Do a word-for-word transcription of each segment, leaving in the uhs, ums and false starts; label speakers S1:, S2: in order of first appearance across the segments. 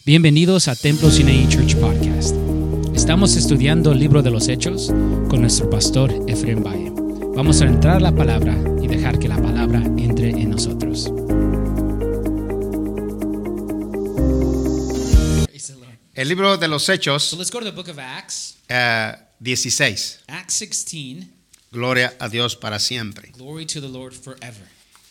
S1: Bienvenidos a Templo Sinaí Church Podcast. Estamos estudiando el libro de los Hechos con nuestro pastor Efraín Valle. Vamos a entrar a la palabra y dejar que la palabra entre en nosotros.
S2: El libro de los Hechos,
S1: So let's go to the book of Acts,
S2: uh, dieciséis.
S1: Acts sixteen.
S2: Gloria a Dios para siempre.
S1: Glory to the Lord forever.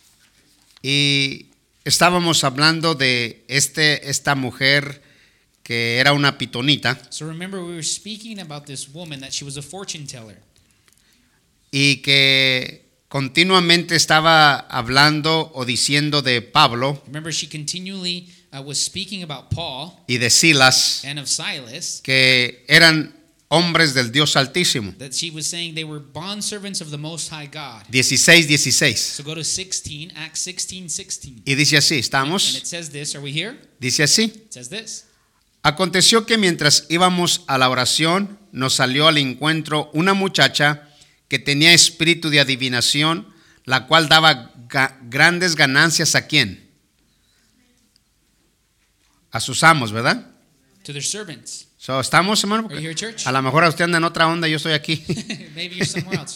S2: Y estábamos hablando de este, esta mujer que era una pitonita
S1: So remember we were speaking about this woman that she was a fortune teller.
S2: y que continuamente estaba hablando o diciendo de Pablo
S1: Remember she continually uh, was speaking about Paul
S2: y de Silas,
S1: and of Silas,
S2: que eran hombres del Dios Altísimo.
S1: that she was saying they were bondservants of the Most High God.
S2: dieciséis, dieciséis.
S1: So go to sixteen, Acts sixteen, sixteen.
S2: Y dice así,
S1: And
S2: ¿estamos?
S1: it says this, are we here?
S2: Dice así.
S1: It says this.
S2: Aconteció que mientras íbamos a la oración, nos salió al encuentro una muchacha que tenía espíritu de adivinación, la cual daba ga- grandes ganancias ¿a quién? A sus amos, ¿verdad?
S1: To their servants.
S2: So, ¿estamos, hermano?
S1: Are you here, church?
S2: A lo mejor usted anda en otra onda, yo estoy aquí.
S1: Maybe you're somewhere else.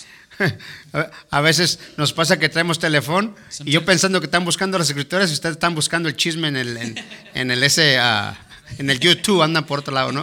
S2: A veces nos pasa que traemos teléfono y yo
S1: Sometimes-
S2: pensando que están buscando las escrituras y ustedes están buscando el chisme en el, en, en el ese, ah, en el YouTube, andan por otro lado, ¿no?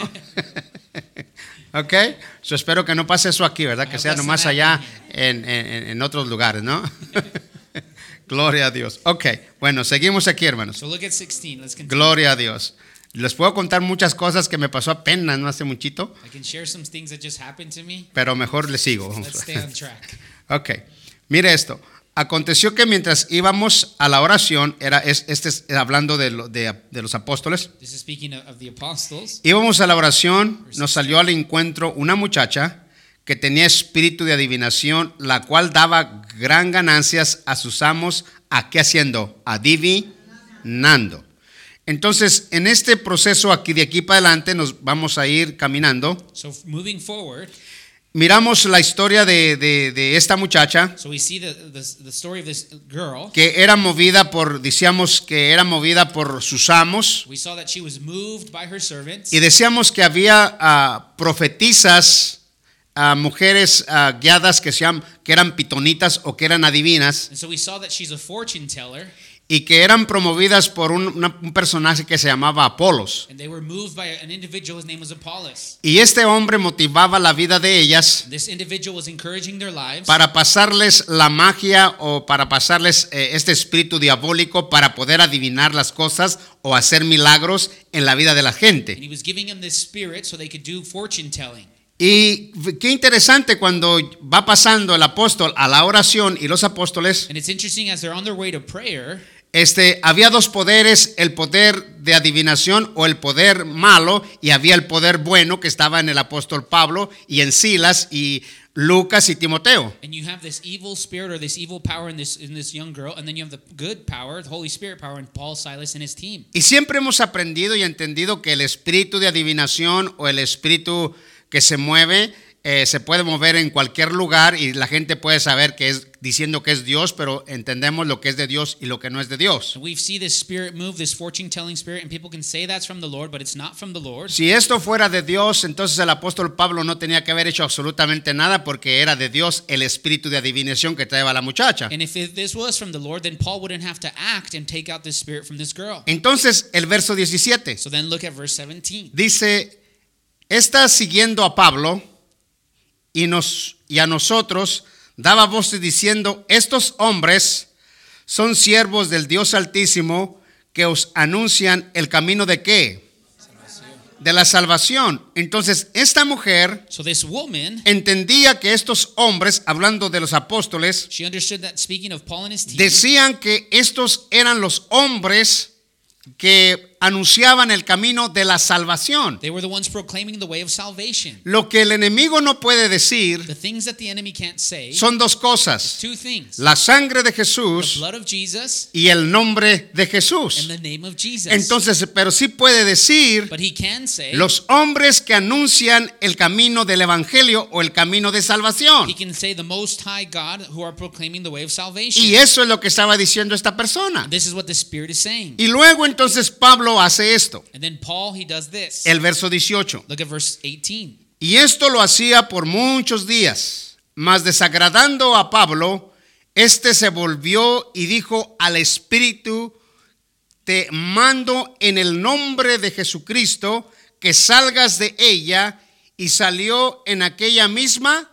S2: Ok, so espero que no pase eso aquí, ¿verdad? Que
S1: hope
S2: sea
S1: that's
S2: nomás
S1: not
S2: allá
S1: happening
S2: en, en, en otros lugares, ¿no? Gloria a Dios. Ok, bueno, seguimos aquí, hermanos.
S1: So look at sixteen. Let's continue.
S2: Gloria a Dios. Les puedo contar muchas cosas que me pasó apenas, no hace muchito,
S1: I can share some things that just happened to me.
S2: pero mejor les sigo.
S1: Let's stay on track.
S2: Ok, mire esto. Aconteció que mientras íbamos a la oración, era es- este es hablando de, lo- de, de los apóstoles,
S1: This is speaking of, of the apostles.
S2: íbamos a la oración, nos salió al encuentro una muchacha que tenía espíritu de adivinación, la cual daba gran ganancias a sus amos, ¿a qué haciendo? Adivinando. Entonces, en este proceso aquí, de aquí para adelante, nos vamos a ir caminando.
S1: So f- moving forward,
S2: Miramos la historia de, de- de esta muchacha
S1: so we see the, the, the story of this girl.
S2: que era movida por, decíamos que era movida por sus amos,
S1: We saw that she was moved by her servants.
S2: y decíamos que había ah, profetisas, ah, mujeres ah, guiadas que, se llaman- que eran pitonitas o que eran adivinas,
S1: And so we saw that she's a fortune teller,
S2: y que eran promovidas por un, una- un personaje que se llamaba Apolos.
S1: and they were moved by an individual. His name was Apollos.
S2: Y este hombre motivaba la vida de ellas
S1: This individual was encouraging their lives
S2: para pasarles la magia o para pasarles eh, este espíritu diabólico para poder adivinar las cosas o hacer milagros en la vida de la
S1: and
S2: gente.
S1: he was giving them this spirit so they could do fortune telling.
S2: Y qué interesante cuando va pasando el apóstol a la oración y los apóstoles,
S1: And it's interesting as they're on their way to prayer,
S2: este, había dos poderes, el poder de adivinación o el poder malo, y había el poder bueno que estaba en el apóstol Pablo y en Silas y Lucas y Timoteo.
S1: and you have this evil spirit or this evil power in this in this young girl, and then you have the good power, the Holy Spirit power in Paul, Silas, and his team.
S2: Y siempre hemos aprendido y entendido que el espíritu de adivinación o el espíritu que se mueve, eh, se puede mover en cualquier lugar y la gente puede saber que es diciendo que es Dios, pero entendemos lo que es de Dios y lo que no es de Dios.
S1: And we see this spirit move, this fortune telling spirit, and people can say that's from the Lord, but it's not from the Lord.
S2: Si esto fuera de Dios, entonces el apóstol Pablo no tenía que haber hecho absolutamente nada porque era de Dios el espíritu de adivinación que traía la muchacha.
S1: And if it, this was from the Lord, then Paul wouldn't have to act and take out this spirit from this girl.
S2: Entonces el verso diecisiete
S1: So then look at verse seventeen.
S2: dice, está siguiendo a Pablo y, nos, y a nosotros daba voces diciendo, estos hombres son siervos del Dios Altísimo que os anuncian el camino de qué? De la salvación. Entonces esta mujer
S1: So this woman,
S2: entendía que estos hombres, hablando de los apóstoles,
S1: she understood that speaking of Paul and his team,
S2: decían que estos eran los hombres que anunciaban el camino de la salvación.
S1: they were the ones proclaiming the way of salvation.
S2: Lo que el enemigo no puede decir
S1: The things that the enemy can't say,
S2: son dos cosas:
S1: two things.
S2: la sangre de
S1: The
S2: Jesús
S1: blood of Jesus
S2: y el nombre de
S1: and
S2: Jesús.
S1: the name of Jesus.
S2: Entonces, pero sí puede decir
S1: But he can say,
S2: los hombres que anuncian el camino del evangelio o el camino de salvación.
S1: he can say the Most High God who are proclaiming the way of salvation.
S2: Y eso es lo que estaba diciendo esta persona.
S1: This is what the Spirit is saying.
S2: Y luego entonces Pablo Pablo hace esto.
S3: And then Paul, he does this.
S2: El verso dieciocho.
S3: Look at verse eighteen.
S2: Y esto lo hacía por muchos días, mas desagradando a Pablo, este se volvió y dijo al Espíritu: te mando en el nombre de Jesucristo que salgas de ella, y salió en aquella misma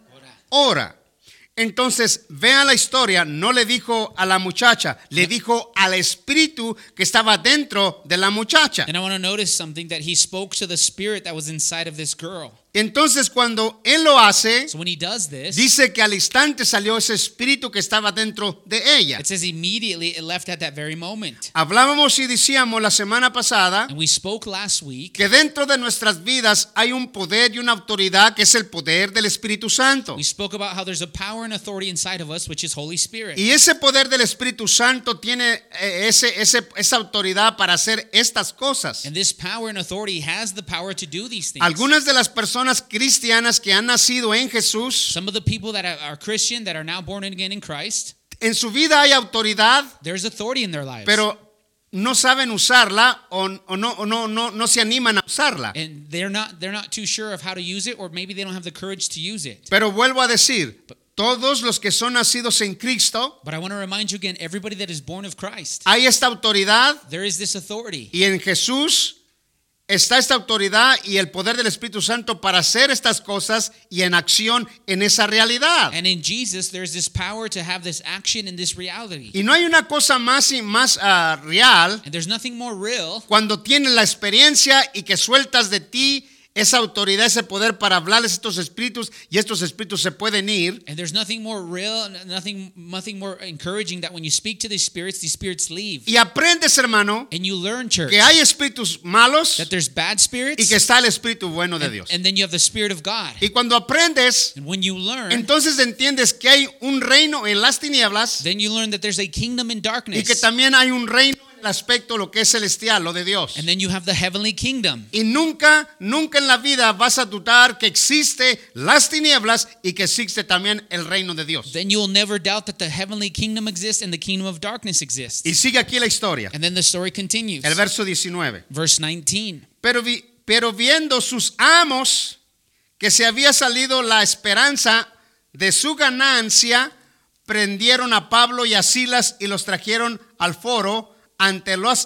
S2: hora. Entonces, vean la historia, no le dijo a la muchacha, le dijo al espíritu que estaba dentro de la muchacha.
S3: And I want to notice something, that he spoke to the spirit that was inside of this girl.
S2: Entonces, cuando él lo hace,
S3: So when he does this,
S2: dice que al instante salió ese espíritu que estaba dentro de ella.
S3: it says immediately it left at that very moment.
S2: Hablábamos y decíamos la semana pasada
S3: And we spoke last week.
S2: que dentro de nuestras vidas hay un poder y una autoridad que es el poder del Espíritu Santo.
S3: We spoke about how there's a power and authority inside of us, which is Holy Spirit.
S2: Y ese poder del Espíritu Santo tiene eh, ese, ese, esa autoridad para hacer estas cosas.
S3: And this power and authority has the power to do these things.
S2: Algunas de las personas cristianas que han nacido en Jesús,
S3: Some of the people that are Christian, that are now born again in Christ,
S2: en su vida hay autoridad,
S3: there's authority in their lives.
S2: pero no saben usarla o, o, no, o no, no, no se animan a usarla.
S3: And they're not they're not too sure of how to use it, or maybe they don't have the courage to use it.
S2: Pero vuelvo a decir, todos los que son nacidos en Cristo,
S3: But I want to remind you again, everybody that is born of Christ,
S2: hay esta autoridad,
S3: there is this authority.
S2: y en Jesús está esta autoridad y el poder del Espíritu Santo para hacer estas cosas y en acción en esa realidad.
S3: And in Jesus, there's this power to have this action in this reality.
S2: Y no hay una cosa más y más uh, real
S3: And there's nothing more real
S2: cuando tienes la experiencia y que sueltas de ti esa autoridad, ese poder para hablarles a estos espíritus, y estos espíritus se pueden ir.
S3: And there's nothing more real, nothing, nothing more encouraging, that when you speak to these spirits, these spirits leave.
S2: Y aprendes, hermano,
S3: And you learn, church,
S2: que hay espíritus malos
S3: that there's bad spirits,
S2: y que está el espíritu bueno de
S3: and,
S2: Dios.
S3: and then you have the Spirit of God.
S2: Y cuando aprendes,
S3: And when you learn,
S2: entonces entiendes que hay un reino en las tinieblas
S3: then you learn that there's a kingdom in
S2: y que
S3: darkness.
S2: también hay un reino en el aspecto lo que es celestial, lo de Dios.
S3: And then you have the heavenly kingdom.
S2: Y nunca, nunca en la vida vas a dudar que existe las tinieblas y que existe también el reino de Dios.
S3: Then you'll never doubt that the heavenly kingdom exists and the kingdom of darkness exists.
S2: Y sigue aquí la historia.
S3: And then the story continues.
S2: El verso diecinueve.
S3: Verse nineteen.
S2: Pero, vi- pero viendo sus amos que se había salido la esperanza de su ganancia, prendieron a Pablo y a Silas y los trajeron al foro ante las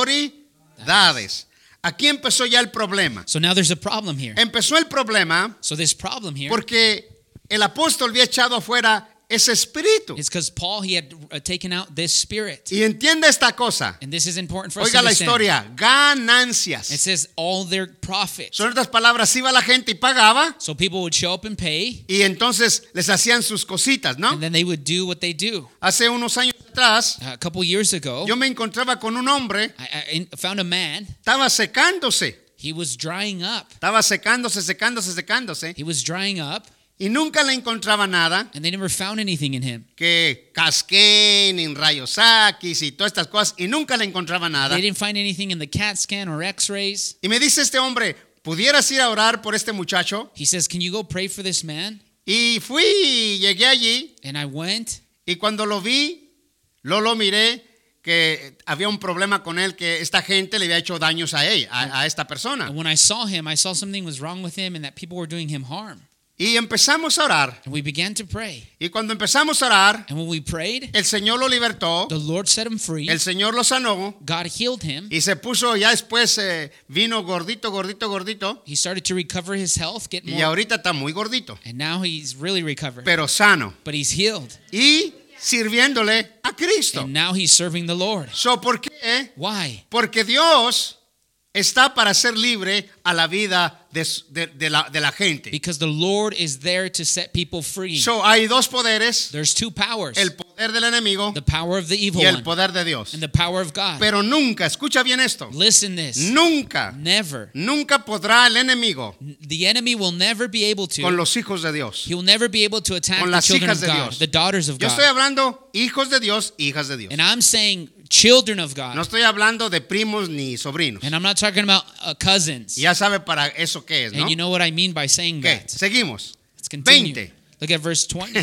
S2: autoridades. Aquí empezó ya el problema.
S3: So now there's a problem here.
S2: Empezó el problema
S3: So this problem here
S2: porque el apóstol había echado afuera ese espíritu.
S3: is because Paul, he had uh, taken out this spirit.
S2: Y entiende esta cosa.
S3: And this is important for us to
S2: Oiga la
S3: understand.
S2: historia.
S3: It
S2: Ganancias.
S3: says all their profit.
S2: Son otras palabras, iba la gente y pagaba
S3: So people would show up and pay,
S2: y entonces les hacían sus cositas, ¿no?
S3: and then they would do what they do.
S2: Hace unos años atrás,
S3: A couple years ago,
S2: yo me encontraba con un hombre,
S3: I, I found a man.
S2: estaba secándose,
S3: He was drying up.
S2: estaba secándose, secándose, secándose,
S3: He was drying up,
S2: y nunca le encontraba nada,
S3: and they never found anything in him.
S2: que casquén, en rayos X y todas estas cosas, y nunca le encontraba nada.
S3: They didn't find anything in the CAT scan or X-rays.
S2: Y me dice este hombre, ¿pudieras ir a orar por este muchacho?
S3: He says, "Can you go pray for this man?"
S2: Y fui, llegué allí,
S3: And I went,
S2: y cuando lo vi, lo lo miré, que había un problema con él, que esta gente le había hecho daños a él, a, a esta persona.
S3: and when I saw him, I saw something was wrong with him and that people were doing him harm.
S2: Y empezamos a orar.
S3: And we began to pray.
S2: Y cuando empezamos a orar,
S3: And when we prayed,
S2: el Señor lo libertó,
S3: the Lord set him free.
S2: el Señor lo sanó,
S3: God healed him.
S2: y se puso, ya después eh, vino gordito, gordito, gordito,
S3: He started to recover his health, get
S2: y
S3: more.
S2: ahorita está muy gordito,
S3: And now he's really recovered.
S2: pero sano,
S3: But he's healed.
S2: y sirviéndole a Cristo.
S3: And now he's serving the Lord.
S2: So, ¿por qué?
S3: Why?
S2: Porque Dios está para hacer libre a la vida de, de- de la, de la gente.
S3: Because the Lord is there to set people free.
S2: So, hay dos poderes,
S3: There's two powers.
S2: el poder del enemigo
S3: The power of the evil
S2: y el
S3: one
S2: poder de Dios.
S3: and the power of God.
S2: Pero nunca, escucha bien esto,
S3: Listen this.
S2: nunca,
S3: Never.
S2: nunca podrá el enemigo
S3: The enemy will never be able
S2: con
S3: to.
S2: los hijos de Dios.
S3: He will never be able to attack
S2: Con
S3: the
S2: las
S3: children
S2: hijas
S3: of
S2: de
S3: God,
S2: Dios.
S3: the daughters of
S2: Yo estoy
S3: God.
S2: hablando hijos de Dios, hijas de Dios.
S3: And I'm saying children of God.
S2: No estoy hablando de primos ni sobrinos.
S3: And I'm not talking about uh, cousins.
S2: Ya sabe para eso qué es, ¿no?
S3: And you know what I mean by saying
S2: ¿Qué?
S3: that.
S2: Seguimos.
S3: Let's continue.
S2: veinte.
S3: Look at verse twenty.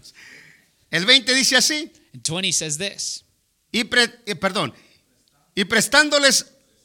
S2: El veinte dice así.
S3: And twenty says this.
S2: Y pre- eh, perdón. Y prestándoles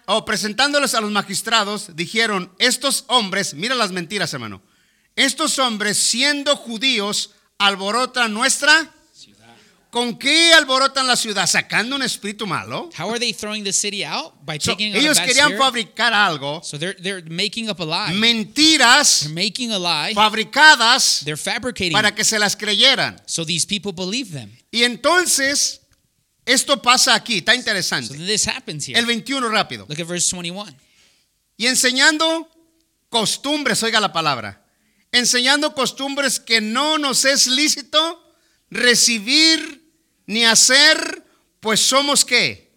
S2: o presentándoles a los magistrados, dijeron, estos hombres, mira las mentiras, hermano, estos hombres siendo judíos alborotan nuestra... ¿Con qué alborotan la ciudad? ¿Sacando un espíritu malo?
S3: How are they throwing the city out? By
S2: So,
S3: taking out a
S2: ellos
S3: bad
S2: querían
S3: spirit?
S2: fabricar algo,
S3: So they're they're making up a lie.
S2: mentiras
S3: They're making a lie.
S2: fabricadas
S3: They're fabricating.
S2: para que se las creyeran.
S3: So these people believe them.
S2: Y entonces, esto pasa aquí, está
S3: So
S2: interesante.
S3: this happens here.
S2: El veintiuno rápido.
S3: Look at verse twenty-one.
S2: Y enseñando costumbres, oiga la palabra, enseñando costumbres que no nos es lícito recibir ni hacer, pues somos ¿qué?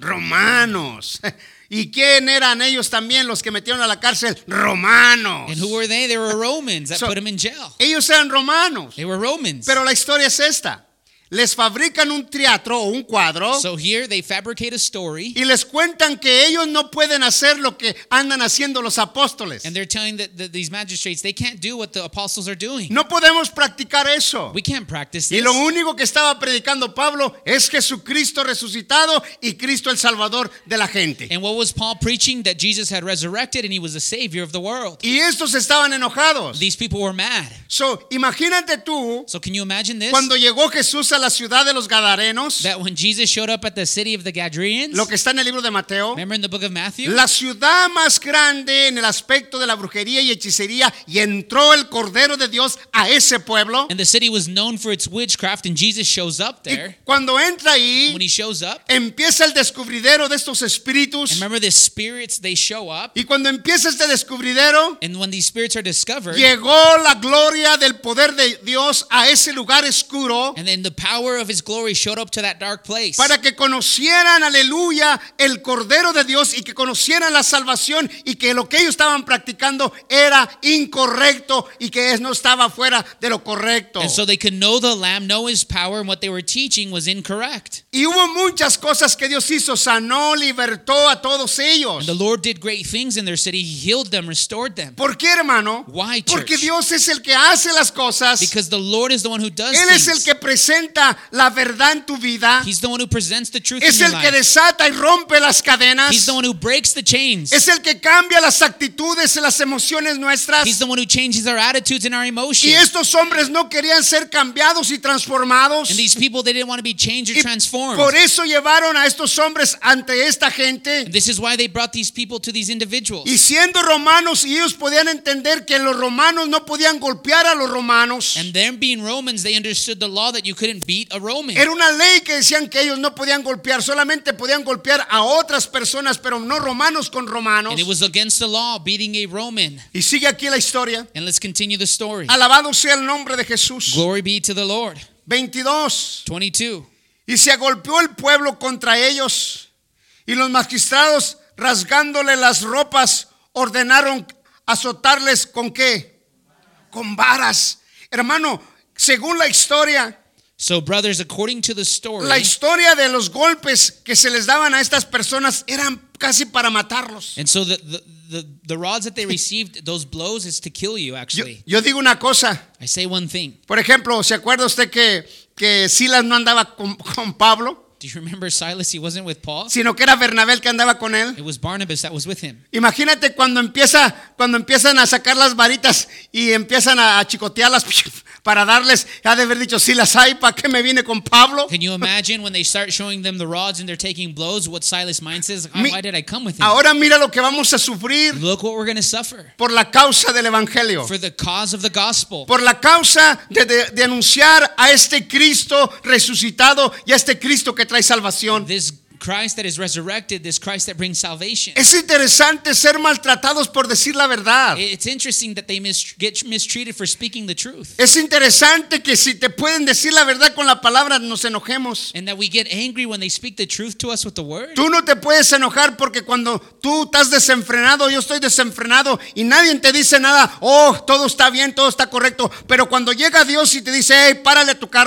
S2: Romanos. ¿Y quién eran ellos también los que metieron a la cárcel? Romanos.
S3: And who were they? They were Romans that
S2: So-
S3: put them in jail.
S2: Ellos eran romanos.
S3: They were Romans.
S2: Pero la historia es esta. Les fabrican un teatro o un cuadro
S3: So here they fabricate a story,
S2: y les cuentan que ellos no pueden hacer lo que andan haciendo los apóstoles.
S3: and they're telling that that these magistrates they can't do what the apostles are doing.
S2: No podemos practicar eso.
S3: We can't practice
S2: Y
S3: this.
S2: lo único que estaba predicando Pablo es Jesucristo resucitado y Cristo el Salvador de la gente.
S3: And what was Paul preaching? That Jesus had resurrected and he was the savior of the world.
S2: Y estos estaban enojados.
S3: These people were mad.
S2: So, imagínate tú
S3: So can you imagine this?
S2: cuando llegó Jesús a la ciudad de los Gadarenos,
S3: That when Jesus showed up at the city of the Gadarenes,
S2: lo que está en el libro de Mateo,
S3: remember in the book of Matthew?
S2: la ciudad más grande en el aspecto de la brujería y hechicería, y entró el Cordero de Dios a ese pueblo.
S3: And the city was known for its witchcraft, and Jesus shows up
S2: Y
S3: there.
S2: cuando entra ahí,
S3: When he shows up,
S2: empieza el descubridero de estos
S3: and
S2: espíritus.
S3: remember the spirits, they show up.
S2: Y cuando empieza este descubridero,
S3: And when these spirits are discovered,
S2: llegó la gloria del poder de Dios a ese lugar oscuro
S3: and then the power of his glory showed up to that dark place.
S2: para que conocieran, aleluya, el Cordero de Dios y que conocieran la salvación y que lo que ellos estaban practicando era incorrecto y que no estaba fuera de lo correcto.
S3: And so they could know the Lamb, know his power, and what they were teaching was incorrect.
S2: Y hubo muchas cosas que Dios hizo, sanó, libertó a todos ellos.
S3: And the Lord did great things in their city. He healed them, restored them.
S2: ¿Por qué, hermano?
S3: Why,
S2: Porque
S3: church?
S2: Dios es el que hace las cosas.
S3: Because the Lord is the one who does
S2: Él es el
S3: things.
S2: que presenta la verdad en tu vida.
S3: He's the one who presents the truth
S2: Es
S3: in your
S2: el que
S3: life.
S2: desata y rompe las cadenas.
S3: He's the one who breaks the chains.
S2: Es el que cambia las actitudes y las emociones nuestras.
S3: He's the one who changes our attitudes and our
S2: Y
S3: emotions.
S2: estos hombres no querían ser cambiados y transformados.
S3: And these people, they didn't want to be changed or
S2: Y
S3: transformed.
S2: por eso llevaron a estos hombres ante esta gente.
S3: And this is why they brought these people to these individuals.
S2: Y siendo romanos, y ellos podían entender que los romanos no podían golpear a los romanos.
S3: And them being Romans, they understood the law that you couldn't beat a Roman.
S2: Era una ley que decían que ellos no podían golpear, solamente podían golpear a otras personas, pero no romanos con romanos.
S3: And it was against the law, beating a Roman.
S2: Y sigue aquí la historia.
S3: And let's continue the story.
S2: Alabado sea el nombre de Jesús.
S3: Glory be to the Lord.
S2: veintidós.
S3: twenty-two.
S2: Y se agolpeó el pueblo contra ellos, y los magistrados, rasgándole las ropas, ordenaron azotarles con qué? Con varas. Hermano, según la historia,
S3: So, brothers, according to the story,
S2: la historia de los golpes que se les daban a estas personas eran casi para matarlos.
S3: and so the, the, the, the rods that they received, those blows, is to kill you,
S2: Yo,
S3: actually.
S2: yo digo una cosa,
S3: I say one thing.
S2: por ejemplo, ¿se acuerda usted que, que Silas no andaba con, con Pablo,
S3: Do you remember Silas? He wasn't with Paul.
S2: sino que era Bernabé el que andaba con él?
S3: It was Barnabas that was with him.
S2: Imagínate cuando empieza, cuando empiezan a sacar las varitas y empiezan a, a chicotearlas para darles, ha de haber dicho, si las hay, ¿para qué me vine con Pablo?
S3: Can you imagine when they start showing them the rods and they're taking blows, what Silas' mind says? "Oh,
S2: Mi-
S3: why did I come with him?
S2: Ahora mira lo que vamos a sufrir
S3: Look what we're going to suffer
S2: por la causa del evangelio,
S3: for the cause of the gospel.
S2: por la causa de, de- de anunciar a este Cristo resucitado y a este Cristo que trae salvación.
S3: This Christ that is resurrected, this Christ that brings salvation.
S2: Es interesante ser maltratados por decir la verdad.
S3: It's interesting that they mis- get mistreated for speaking the truth,
S2: Es interesante que si te pueden decir la verdad con la palabra nos enojemos.
S3: and that we get angry when they speak the truth to us with the word.
S2: Tú no te puedes enojar porque cuando tú estás desenfrenado, yo estoy desenfrenado y nadie te dice nada, oh, todo está bien, todo está correcto. Pero cuando llega Dios y te dice, hey, párale a tu carro,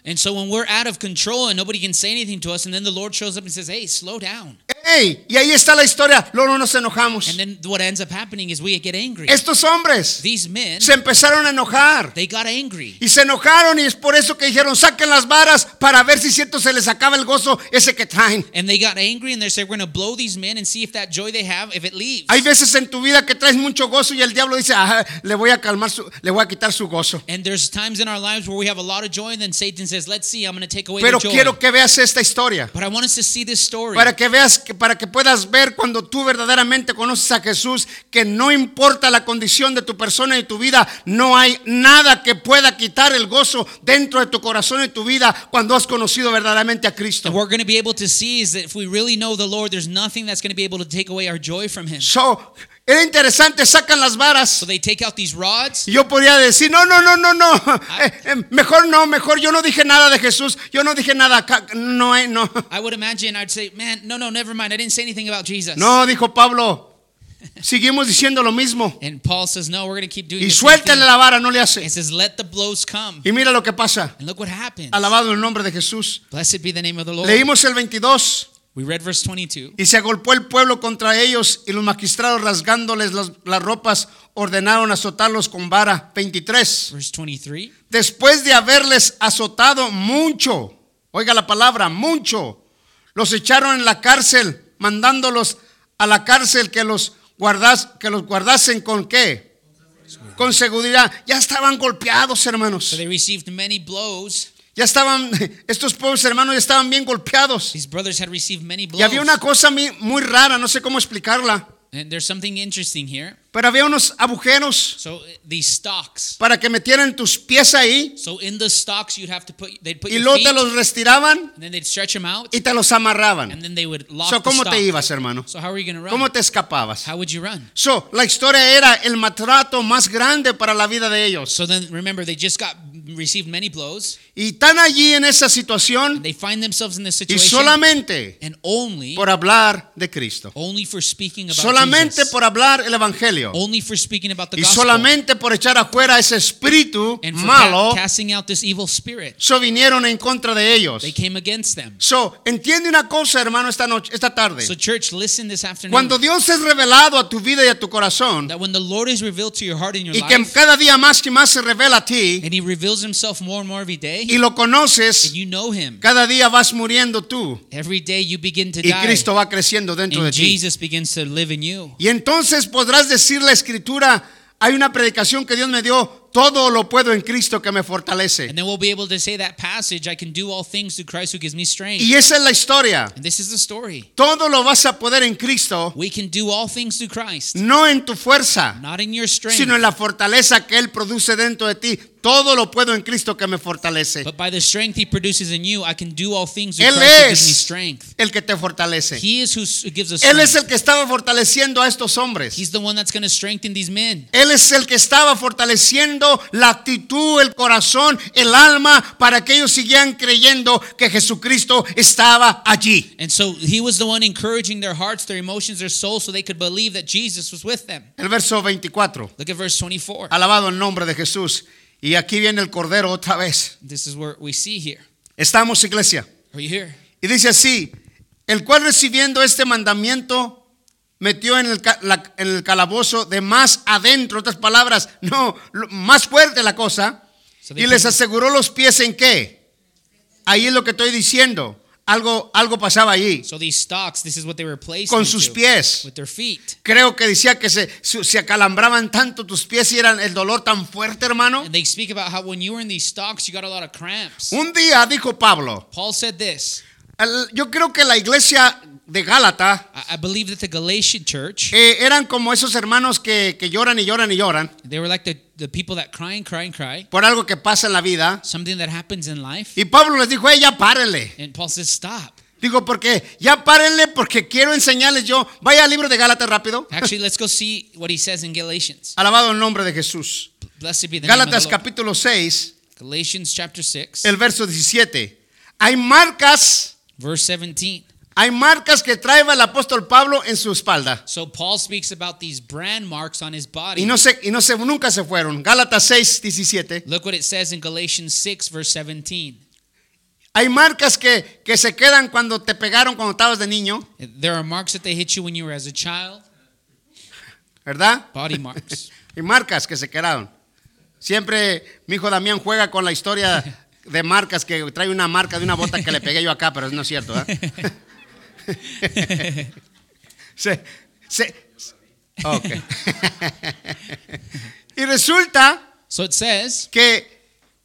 S3: And so when we're out of control and nobody can say anything to us, and then the Lord shows up and says, hey, slow down.
S2: Ey, y ahí está la historia. Luego nos enojamos.
S3: And then what ends up happening is we get angry.
S2: Estos hombres
S3: These men,
S2: se empezaron a enojar.
S3: they got angry.
S2: Y se enojaron y es por eso que dijeron, saquen las varas para ver si cierto se les acaba el gozo ese que traen.
S3: And they got angry and they said, we're going to blow these men and see if that joy they have, if it leaves.
S2: Hay veces en tu vida que traes mucho gozo y el diablo dice, ah, le voy a calmar su, le voy a quitar su gozo.
S3: And there's times in our lives where we have a lot of joy and then Satan says, let's see, I'm going to take away
S2: Pero
S3: the joy.
S2: quiero que veas esta historia.
S3: But I want us to see this story.
S2: Para que veas, que, para que puedas ver cuando tú verdaderamente conoces a Jesús, que no importa la condición de tu persona y tu vida, no hay nada que pueda quitar el gozo dentro de tu corazón y tu vida cuando has conocido verdaderamente a Cristo.
S3: And we're going to be able to see is that if we really know the Lord, there's nothing that's going to be able to take away our joy from Him.
S2: So, era interesante, sacan las varas.
S3: So they take out these rods.
S2: Y yo podría decir, no, no, no, no, no, eh, eh, mejor no, mejor yo no dije nada de Jesús, yo no dije nada acá, no, eh, no.
S3: I would imagine I'd say, man, no, no, never mind. I didn't say anything about Jesus.
S2: No, dijo Pablo, seguimos diciendo lo mismo.
S3: And Paul says, no, we're going to keep doing
S2: Y
S3: the same thing.
S2: suéltale la vara, no le hace.
S3: It says, let the blows come.
S2: Y mira lo que pasa,
S3: And look what happens.
S2: alabado el nombre de Jesús.
S3: Blessed be the name of the Lord.
S2: Leímos el veintidós.
S3: We read verse twenty-two.
S2: Y se agolpó el pueblo contra ellos y los magistrados rasgándoles las, las ropas ordenaron azotarlos con vara. veintitrés.
S3: Verse twenty-three.
S2: Después de haberles azotado mucho, oiga la palabra, mucho, los echaron en la cárcel, mandándolos a la cárcel que los, guardas, que los guardasen con qué? Con seguridad. Ya estaban golpeados, hermanos.
S3: So they received many blows.
S2: Ya estaban, estos pobres hermanos ya estaban bien golpeados.
S3: These brothers had received many blows.
S2: Y había una cosa muy, muy rara, no sé cómo explicarla.
S3: And there's something interesting here.
S2: Pero había unos agujeros
S3: So uh, these stocks.
S2: para que metieran tus pies ahí
S3: So in the stocks you'd have to put, they'd put
S2: y
S3: your
S2: luego
S3: feet,
S2: te los retiraban
S3: and then they'd stretch them out,
S2: y te los amarraban.
S3: and then they would lock
S2: So,
S3: the
S2: ¿cómo
S3: stock.
S2: te ibas, hermano?
S3: So how are you going to run?
S2: ¿Cómo te escapabas?
S3: How would you run?
S2: So, la historia era el maltrato más grande para la vida de ellos.
S3: So then remember, they just got received many blows.
S2: Y están allí en esa situación
S3: They find themselves in this
S2: y
S3: situation,
S2: solamente
S3: and only,
S2: por hablar de Cristo.
S3: only for speaking about
S2: Solamente
S3: Jesus,
S2: por hablar el evangelio.
S3: only for speaking about the
S2: Y
S3: gospel,
S2: solamente por echar afuera ese espíritu
S3: and for
S2: malo,
S3: ca- casting out this evil spirit.
S2: so vinieron en contra de ellos.
S3: They came against them.
S2: So, entiende una cosa, hermano, esta noche, esta tarde.
S3: So church, listen this afternoon.
S2: Cuando Dios es revelado a tu vida y a tu corazón,
S3: That when the Lord is revealed to your heart and your
S2: y que
S3: life,
S2: cada día más y más se revela a ti,
S3: and He reveals Himself more and more every day,
S2: y lo conoces,
S3: and you know Him,
S2: cada día vas muriendo tú,
S3: every day you begin to
S2: y
S3: die,
S2: Cristo va creciendo dentro de
S3: and
S2: ti.
S3: Jesus begins to live in you.
S2: Y entonces podrás decir la escritura, hay una predicación que Dios me dio, todo lo puedo en Cristo que me fortalece.
S3: And then we'll be able to say that passage, I can do all things through Christ who gives me strength.
S2: Y esa es la historia.
S3: And this is the story.
S2: Todo lo vas a poder en Cristo,
S3: We can do all things through Christ,
S2: no en tu fuerza,
S3: not in your strength,
S2: sino en la fortaleza que Él produce dentro de ti. Todo lo puedo en Cristo que me fortalece.
S3: but by the strength He produces in you, I can do all things through
S2: Él
S3: Christ who gives me
S2: es
S3: strength.
S2: el que te fortalece.
S3: He is who s- gives us
S2: Él es el
S3: strength.
S2: que estaba fortaleciendo a estos hombres.
S3: He's the one that's going to strengthen these men.
S2: Él es el que estaba fortaleciendo la actitud, el corazón, el alma, para que ellos siguieran creyendo que Jesucristo estaba allí.
S3: And so He was the one encouraging their hearts, their emotions, their souls, so they could believe that Jesus was with them.
S2: El verso veinticuatro.
S3: Look at verse twenty-four.
S2: Alabado el nombre de Jesús. Y aquí viene el Cordero otra vez.
S3: This is where we see here.
S2: Estamos, iglesia.
S3: Are you here?
S2: Y dice así, el cual recibiendo este mandamiento metió en el, ca- la- en el calabozo de más adentro, otras palabras, no, lo- más fuerte la cosa,
S3: So they
S2: y les
S3: put-
S2: aseguró los pies en qué. Ahí es lo que estoy diciendo. Algo, algo pasaba allí.
S3: So these stocks, this is what they were placed
S2: Con
S3: into,
S2: sus pies.
S3: with their feet.
S2: Creo que decía que se, se se acalambraban tanto tus pies y eran el dolor tan fuerte, hermano.
S3: And they speak about how when you were in these stocks, you got a lot of cramps.
S2: Un día dijo Pablo,
S3: Paul said this.
S2: el- yo creo que la iglesia de Gálata
S3: I, I believe that the Galatian church,
S2: eh, eran como esos hermanos que, que lloran y lloran y lloran
S3: they were like the, the people that cry and cry and cry,
S2: por algo que pasa en la vida.
S3: something that happens in life.
S2: Y Pablo les dijo, hey, ya párenle.
S3: And Paul says, stop.
S2: Digo, porque ya párenle porque quiero enseñarles yo. Vaya al libro de Gálatas rápido.
S3: Actually, let's go see what he says in Galatians.
S2: Alabado el nombre de Jesús.
S3: Blessed be the name of
S2: Gálatas
S3: the Lord.
S2: capítulo seis,
S3: Galatians chapter six,
S2: el verso diecisiete. Hay marcas,
S3: verse seventeen.
S2: hay marcas que trae el apóstol Pablo en su espalda.
S3: So Paul speaks about these brand marks on his body.
S2: Y no se, y no se, nunca se fueron. Gálatas seis, diecisiete.
S3: Look what it says in Galatians six, verse seventeen.
S2: Hay marcas que, que se quedan cuando te pegaron cuando estabas de niño,
S3: There are marks that they hit you when you were as a child.
S2: ¿verdad?
S3: Body marks.
S2: Y marcas que se quedaron. Siempre mi hijo Damián juega con la historia de marcas, que trae una marca de una bota que le pegué yo acá, pero no es cierto, ¿eh? se, se, ok. Y resulta
S3: So it says,
S2: que,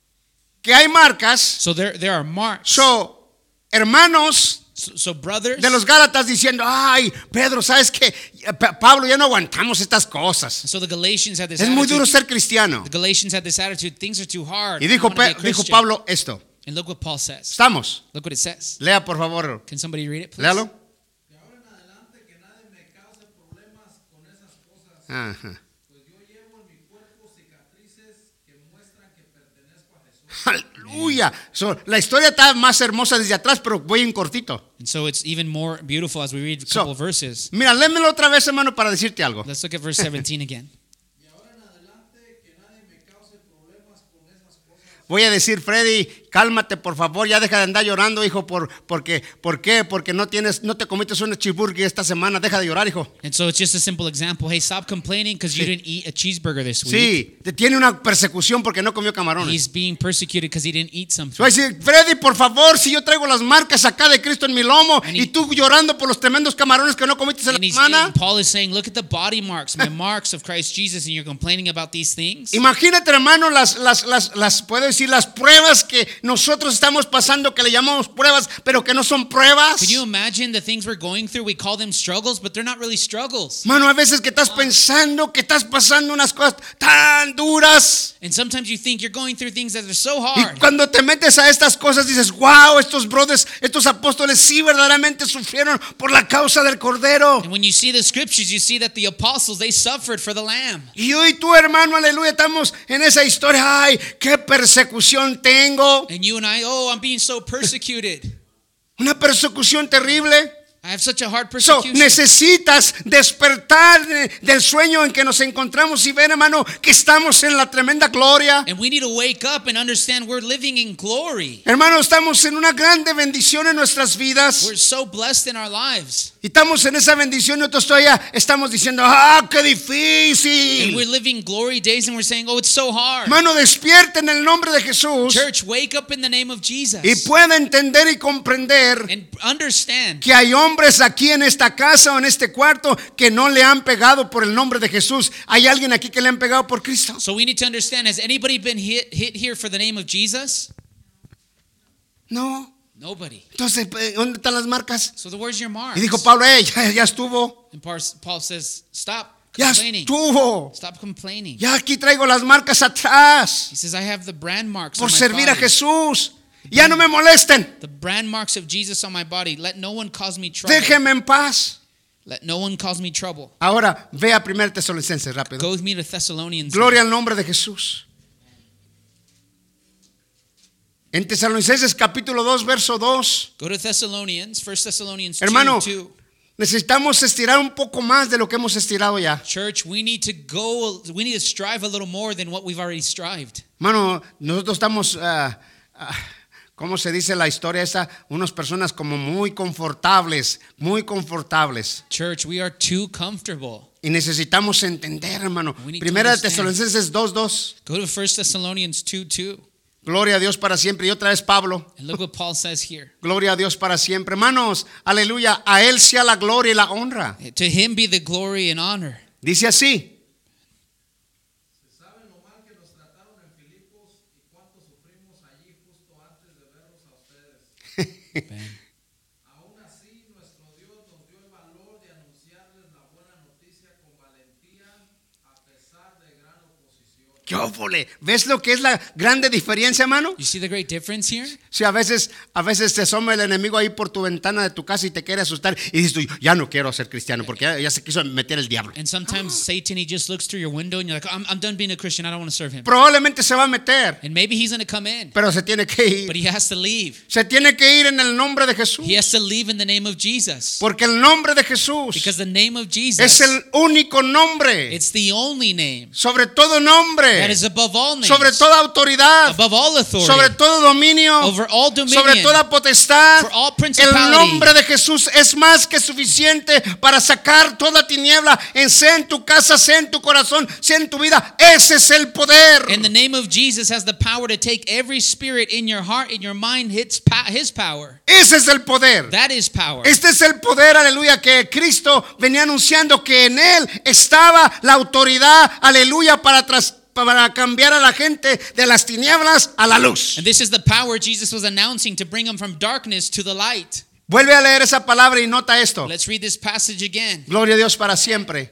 S2: que hay marcas.
S3: so there there are marks.
S2: So, hermanos
S3: So, so brothers,
S2: de los Gálatas diciendo, ay, Pedro, ¿sabes qué? Pa- Pablo, ya no aguantamos estas cosas.
S3: so the Galatians had this
S2: Es muy
S3: attitude.
S2: duro ser cristiano.
S3: The Galatians had this attitude, things are too hard.
S2: Y
S3: I don't
S2: dijo,
S3: wanna be a
S2: Pe- dijo
S3: Christian.
S2: Pablo esto.
S3: And look what Paul says.
S2: ¿Estamos?
S3: Look what it says.
S2: Lea, por favor.
S3: Can somebody read it, please?
S2: Léalo.
S4: De ahora en adelante que nadie me cause problemas con esas cosas,
S2: Ajá.
S4: pues yo llevo en mi cuerpo cicatrices que muestran que pertenezco a Jesús.
S2: Aleluya. So, la historia está más hermosa desde atrás, pero voy en cortito.
S3: And so it's even more beautiful as we read a
S2: So,
S3: couple of verses.
S2: Mira, léemelo otra vez, hermano, para decirte algo.
S3: Let's look at verse seventeen again.
S4: De ahora en adelante que nadie me cause problemas con esas cosas,
S2: Voy a decir, Freddy, cálmate, por favor, ya deja de andar llorando, hijo, por, porque, ¿por qué? Porque no tienes, no te comiste una cheeseburger esta semana, deja de llorar, hijo.
S3: And so it's just a simple example. Hey, stop complaining because you
S2: Sí.
S3: didn't eat a cheeseburger this week.
S2: Sí, te tiene una persecución porque no comió camarones.
S3: He's being persecuted because he didn't eat something.
S2: Voy a decir, Freddy, por favor, si yo traigo las marcas acá de Cristo en mi lomo
S3: And
S2: y
S3: he-
S2: tú llorando por los tremendos camarones que no comiste en
S3: And,
S2: la
S3: he's,
S2: semana.
S3: and Paul is saying, look at the body marks, my marks of Christ Jesus, and you're complaining about these things.
S2: Imagínate, hermano, las, las, las, las, puedo decir, las pruebas que nosotros estamos pasando, que le llamamos pruebas, pero que no son pruebas.
S3: Can you imagine the things we're going through? We call them struggles, but they're not really struggles.
S2: Mano, a veces que estás pensando que estás pasando unas cosas tan duras.
S3: And sometimes you think you're going through things that are so
S2: Y
S3: hard.
S2: cuando te metes a estas cosas dices, wow, estos brothers, estos apóstoles sí verdaderamente sufrieron por la causa del Cordero.
S3: And when you see the scriptures, you see that the apostles, they suffered for the Lamb.
S2: Y yo y tú, hermano, aleluya, estamos en esa historia. Ay, qué persecución tengo.
S3: And you and I, oh, I'm being so persecuted.
S2: Una persecución terrible.
S3: I have such a hard
S2: So,
S3: persecution.
S2: necesitas despertar de- del sueño en que nos encontramos y ver, hermano, que estamos en la tremenda gloria.
S3: And we need to wake up and understand we're living in glory.
S2: Hermano, estamos en una grande bendición en nuestras vidas.
S3: We're so blessed in our lives.
S2: Y estamos en esa bendición y nosotros todavía estamos diciendo, ah, qué
S3: And
S2: difícil.
S3: we're living glory days and we're saying, oh, it's so hard.
S2: Hermano, despierte en el nombre de Jesús
S3: Church, wake up in the name of Jesus.
S2: y pueda entender y comprender
S3: And understand
S2: que hay hombres aquí en esta casa o en este cuarto que no le han pegado por el nombre de Jesús. ¿Hay alguien aquí que le han pegado por Cristo?
S3: So we need to understand, has anybody been hit, hit here for the name of Jesus?
S2: No.
S3: Nobody.
S2: Entonces, ¿dónde están las marcas?
S3: So the where's your marks?
S2: Y dijo Pablo, hey, ya, ya estuvo.
S3: And Paul Paul says, stop
S2: Ya
S3: complaining.
S2: estuvo.
S3: Stop complaining.
S2: Ya aquí traigo las marcas atrás
S3: He says, I have the brand marks
S2: por
S3: on my
S2: servir a
S3: body.
S2: Jesús. Ya no me molesten.
S3: The brand marks of Jesus on my body. Let no one cause me trouble.
S2: Déjenme en paz.
S3: Let no one cause me trouble.
S2: Ahora ve a primer Tesalonicenses rápido.
S3: Go with me to Thessalonians.
S2: Gloria al nombre de Jesús. En Tesalonicenses capítulo dos, verso dos.
S3: Go to Thessalonians, First Thessalonians
S2: Hermano,
S3: two, two.
S2: necesitamos estirar un poco más de lo que hemos estirado ya.
S3: Church, we need to go, we need to strive a little more than what we've already strived.
S2: Hermano, nosotros estamos, ah, ah, ¿cómo se dice la historia esa? Unas personas como muy confortables, muy confortables.
S3: Church, we are too comfortable.
S2: Y necesitamos entender, hermano.
S3: We need to
S2: Primera de
S3: understand.
S2: Tesalonicenses dos, dos.
S3: Go to First Thessalonians two two.
S2: Gloria a Dios para siempre. Y otra vez Pablo.
S3: And look what Paul says here.
S2: Gloria a Dios para siempre. Hermanos, aleluya. A Él sea la gloria y la honra.
S3: To him be the glory and honor.
S2: Dice así.
S4: se sabe lo mal que nos trataron en Filipos y cuánto sufrimos allí justo antes de verlos a ustedes.
S3: Amen.
S4: Aún así, nuestro Dios nos dio el valor de anunciarles la buena noticia con valentía a pesar de gran oposición.
S2: ¡Qué óvole! ¿Ves lo que es la grande diferencia, hermano?
S3: You see the great difference here?
S2: Si a veces, a veces te asoma el enemigo ahí por tu ventana de tu casa y te quiere asustar y dices tú, ya no quiero ser cristiano porque ya, ya se quiso meter el diablo.
S3: And sometimes Satan, he just looks through your window and you're like, I'm, I'm done being a Christian. I don't want to serve him.
S2: Probablemente se va a meter,
S3: And maybe he's going to come in,
S2: pero se tiene que ir.
S3: but he has to leave.
S2: Se tiene que ir en el nombre de Jesús.
S3: He has to leave in the name of Jesus.
S2: Porque el nombre de Jesús
S3: Because the name of
S2: es
S3: Jesus,
S2: el único nombre,
S3: it's the only name.
S2: sobre todo nombre, nombre,
S3: that is above all names,
S2: sobre toda autoridad,
S3: above all authority,
S2: sobre todo dominio,
S3: over all dominion,
S2: sobre toda potestad.
S3: for all
S2: El
S3: principality.
S2: nombre de Jesús es más que suficiente para sacar toda tiniebla, en sea en tu casa, sea en tu corazón, sea en tu vida. Ese es el poder.
S3: And the name of Jesus has the power to take every spirit in your heart, in your mind, his, pa- his power.
S2: Ese es el poder.
S3: That is power.
S2: Este es el poder, aleluya, que Cristo venía anunciando, que en él estaba la autoridad, aleluya, para tras, para cambiar a la gente de las tinieblas a la luz.
S3: And this is the power Jesus was announcing to bring them from darkness to the light.
S2: Vuelve a leer esa palabra y nota esto.
S3: Let's read this passage again.
S2: Gloria a Dios para siempre.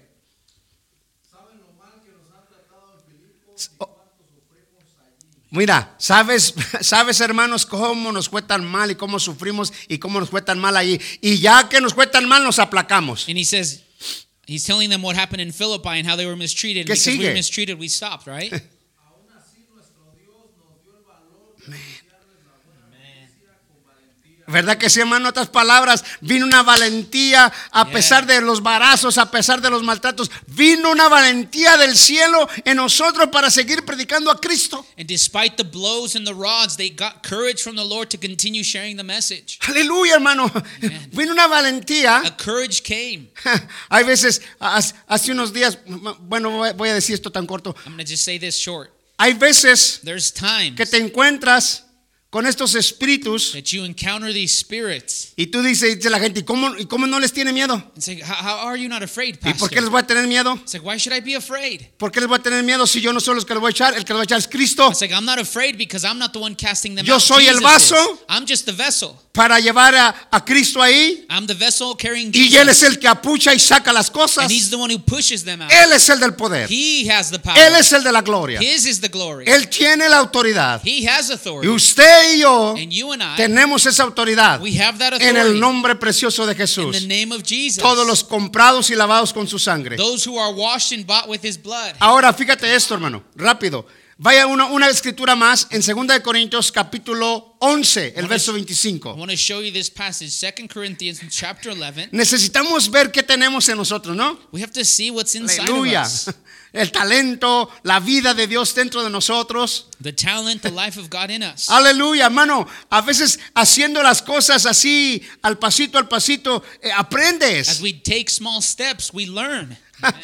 S4: ¿Saben lo mal que nos han tratado en Filipos y cuánto sufrimos allí?
S2: Mira, sabes, sabes hermanos cómo nos fue tan mal y cómo sufrimos y cómo nos fue tan mal allí. Y ya que nos fue tan mal, nos aplacamos.
S3: And he says, he's telling them what happened in Philippi and how they were mistreated.
S2: ¿Qué
S3: Because we
S2: sigue?
S3: were mistreated, we stopped, right?
S4: Aún así nuestro Dios nos dio el valor de anunciarles la buena noticia con valentía.
S2: ¿Verdad que sí, hermano? En otras palabras, vino una valentía a
S3: Yeah.
S2: pesar de los varazos, a pesar de los maltratos. Vino una valentía del cielo en nosotros para seguir predicando a Cristo.
S3: And despite the blows and the rods, they got courage from the Lord to continue sharing the message.
S2: Aleluya, hermano.
S3: Amen.
S2: Vino una valentía.
S3: A courage came.
S2: Hay veces, hace hace unos días, bueno, voy- voy a decir esto tan corto.
S3: I'm going to just say this short.
S2: Hay veces
S3: There's times
S2: que te encuentras con estos espíritus
S3: that you encounter these spirits
S2: y tú dices, dice la gente, ¿y cómo, y cómo no les tiene miedo?
S3: and say, how, how are you not afraid,
S2: ¿Y por qué les
S3: Pastor?
S2: voy a tener miedo?
S3: It's like, why should I be afraid?
S2: ¿Por qué les voy a tener miedo si yo no soy los que les voy a echar? El que les voy a echar es Cristo
S3: It's like, I'm not afraid because I'm not the one casting them
S2: Yo
S3: out.
S2: soy el
S3: Jesus
S2: vaso.
S3: is. I'm just the vessel.
S2: para llevar a, a Cristo ahí.
S3: I'm the vessel carrying
S2: Y Él es
S3: Jesus.
S2: el que apucha y saca las cosas.
S3: And he's the one who pushes them out.
S2: Él es el del poder.
S3: He has the power.
S2: Él es el de la gloria.
S3: His is the glory.
S2: Él tiene la autoridad.
S3: He has
S2: Y
S3: authority.
S2: usted y yo
S3: And you and I,
S2: tenemos esa autoridad
S3: we have that
S2: en el
S3: authority
S2: nombre precioso de
S3: in
S2: Jesús.
S3: the name of Jesus.
S2: Todos los comprados y lavados con su sangre.
S3: Those who are washed and bought with his blood.
S2: Ahora fíjate esto, hermano, rápido. Vaya una, una escritura más en segunda de Corintios capítulo once, el verso
S3: I
S2: veinticinco.
S3: want to show you this passage, Second Corinthians chapter eleven.
S2: Necesitamos ver qué tenemos en nosotros, ¿no?
S3: We have to see what's inside
S2: Aleluya.
S3: of us.
S2: El talento, la vida de Dios dentro de nosotros.
S3: The talent, the life of God in us.
S2: Aleluya, hermano. A veces haciendo las cosas así, al pasito, al pasito, eh,
S3: As
S2: aprendes.
S3: we take small steps, we learn.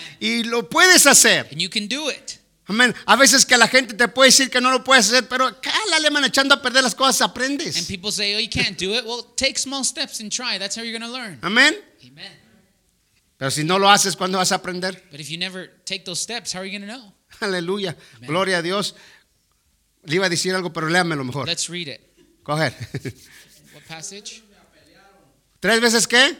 S2: Y lo puedes hacer.
S3: And you can do it.
S2: Amén. A veces que la gente te puede decir que no lo puedes hacer, pero cálale, man, echando a perder las cosas,
S3: And
S2: aprendes.
S3: people say, oh, you can't do it. Well, take small steps and try. That's how you're going to learn.
S2: Amén.
S3: Amen.
S2: Pero si no lo haces, ¿cuándo vas a aprender?
S3: But if you never take those steps, how are you going to know?
S2: Aleluya.
S3: Amén.
S2: Gloria a Dios. Le iba a decir algo, pero léamelo mejor.
S3: Let's read it.
S2: Coger.
S3: What passage?
S2: ¿Tres veces qué?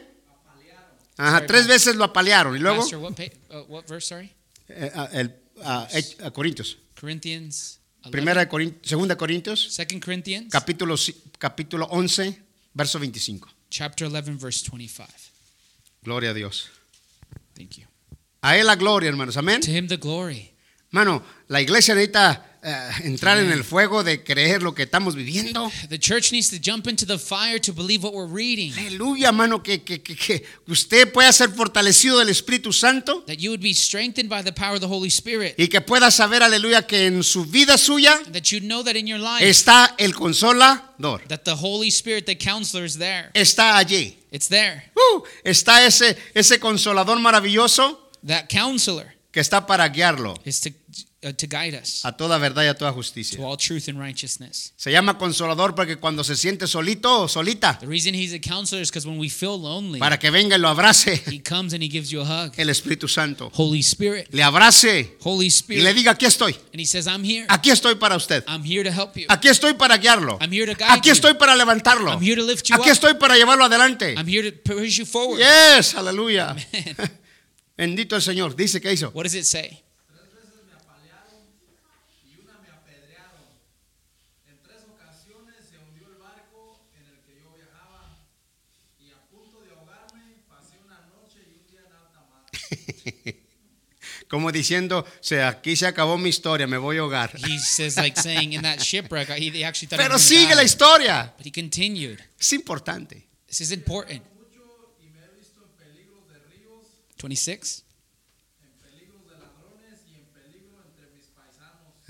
S2: Ajá,
S3: Sorry,
S2: tres
S3: Pastor.
S2: veces lo apalearon. Y luego,
S3: Pastor, what, pa- uh, what verse, sorry?
S2: eh, ah, el, ah, Hech- ah, Corintios.
S3: Corinthians eleven.
S2: Primera de Corintios, segunda de Corintios,
S3: Second Corinthians
S2: capítulo, ci- capítulo once, verso veinticinco.
S3: chapter eleven, verse twenty-five.
S2: Gloria a Dios.
S3: Thank you.
S2: A Él la gloria, hermanos. Amén.
S3: To him the glory.
S2: Hermano, la iglesia necesita eh, entrar en el fuego de creer lo que estamos viviendo.
S3: The church needs to jump into the fire to believe what we're reading.
S2: Aleluya, hermano, que, que, que, que usted pueda ser fortalecido del Espíritu Santo
S3: That you would be strengthened by the power of the Holy Spirit.
S2: y que pueda saber, aleluya, que en su vida suya
S3: That you know that in your life,
S2: está el consolador.
S3: that the Holy Spirit, the counselor, is there.
S2: Está allí.
S3: It's there.
S2: Uh, está ese, ese consolador maravilloso
S3: That counselor
S2: que está para guiarlo
S3: is to, uh, to guide us
S2: a toda verdad y a toda
S3: to
S2: justicia.
S3: all truth and righteousness.
S2: Se llama consolador porque cuando se siente solito o solita,
S3: The reason he's a counselor is because when we feel lonely,
S2: para que venga y lo abrace
S3: he comes and he gives you a hug.
S2: el Espíritu Santo.
S3: Holy Spirit,
S2: Le abrace
S3: Holy
S2: y le
S3: Spirit.
S2: diga, aquí estoy,
S3: And he says, I'm here.
S2: aquí estoy para usted,
S3: I'm here to help you.
S2: aquí estoy para guiarlo,
S3: I'm here to guide
S2: aquí
S3: you.
S2: estoy para levantarlo,
S3: I'm here to lift you
S2: aquí
S3: up.
S2: estoy para llevarlo adelante.
S3: I'm here to push you forward.
S2: Yes, aleluya.
S3: Amen.
S2: Bendito el Señor. Dice que hizo.
S3: What does it say?
S4: Tres veces me apalearon y una me apedrearon. En tres ocasiones se hundió el barco en el que yo viajaba y a punto de ahogarme pasé una noche y un día en alta mar.
S2: Como diciendo, se, aquí se acabó mi historia, me voy a ahogar.
S3: He says, like saying in that shipwreck, he he actually thought he
S2: Pero
S3: was
S2: sigue
S3: gonna
S2: la
S3: die.
S2: historia.
S3: But he continued.
S2: Es importante.
S3: This is important.
S4: Mucho y me he visto en peligros de ríos,
S3: twenty-six.
S4: en peligros de ladrones y en peligro entre mis paisanos.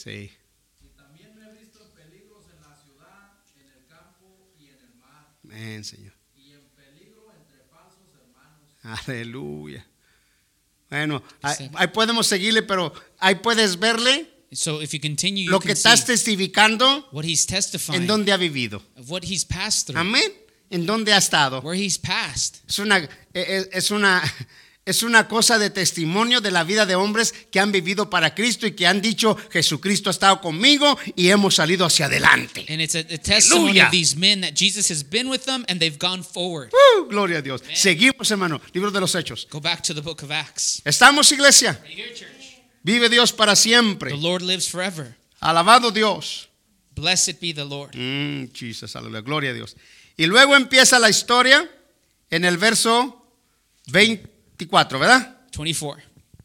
S2: Sí.
S4: Y también me he visto en peligros en la ciudad, en el campo y en el mar.
S2: Amén, Señor.
S4: Y en peligro entre falsos hermanos.
S2: Aleluya. Bueno, ahí, ahí podemos seguirle, pero ahí puedes verle
S3: So if you continue, you
S2: lo que
S3: can
S2: estás
S3: see
S2: testificando
S3: what he's testifying
S2: en dónde ha vivido.
S3: of what he's passed through,
S2: Amén. En dónde ha estado.
S3: where he's passed.
S2: Es una, es, es una, es una cosa de testimonio de la vida de hombres que han vivido para Cristo y que han dicho, Jesucristo ha estado conmigo y hemos salido hacia adelante.
S3: And it's a, a testimony
S2: Aleluya.
S3: of these men that Jesus has been with them and they've gone forward.
S2: Uh, gloria a Dios. Seguimos, hermano. Libro de los Hechos.
S3: Go back to the book of Acts.
S2: ¿Estamos, iglesia?
S3: Are you here, church?
S2: Vive Dios para siempre.
S3: The Lord lives forever.
S2: Alabado Dios.
S3: Blessed be the Lord.
S2: Mm, Jesus, aleluya, gloria a Dios. Y luego empieza la historia en el verso veinticuatro, ¿verdad?
S3: twenty-four.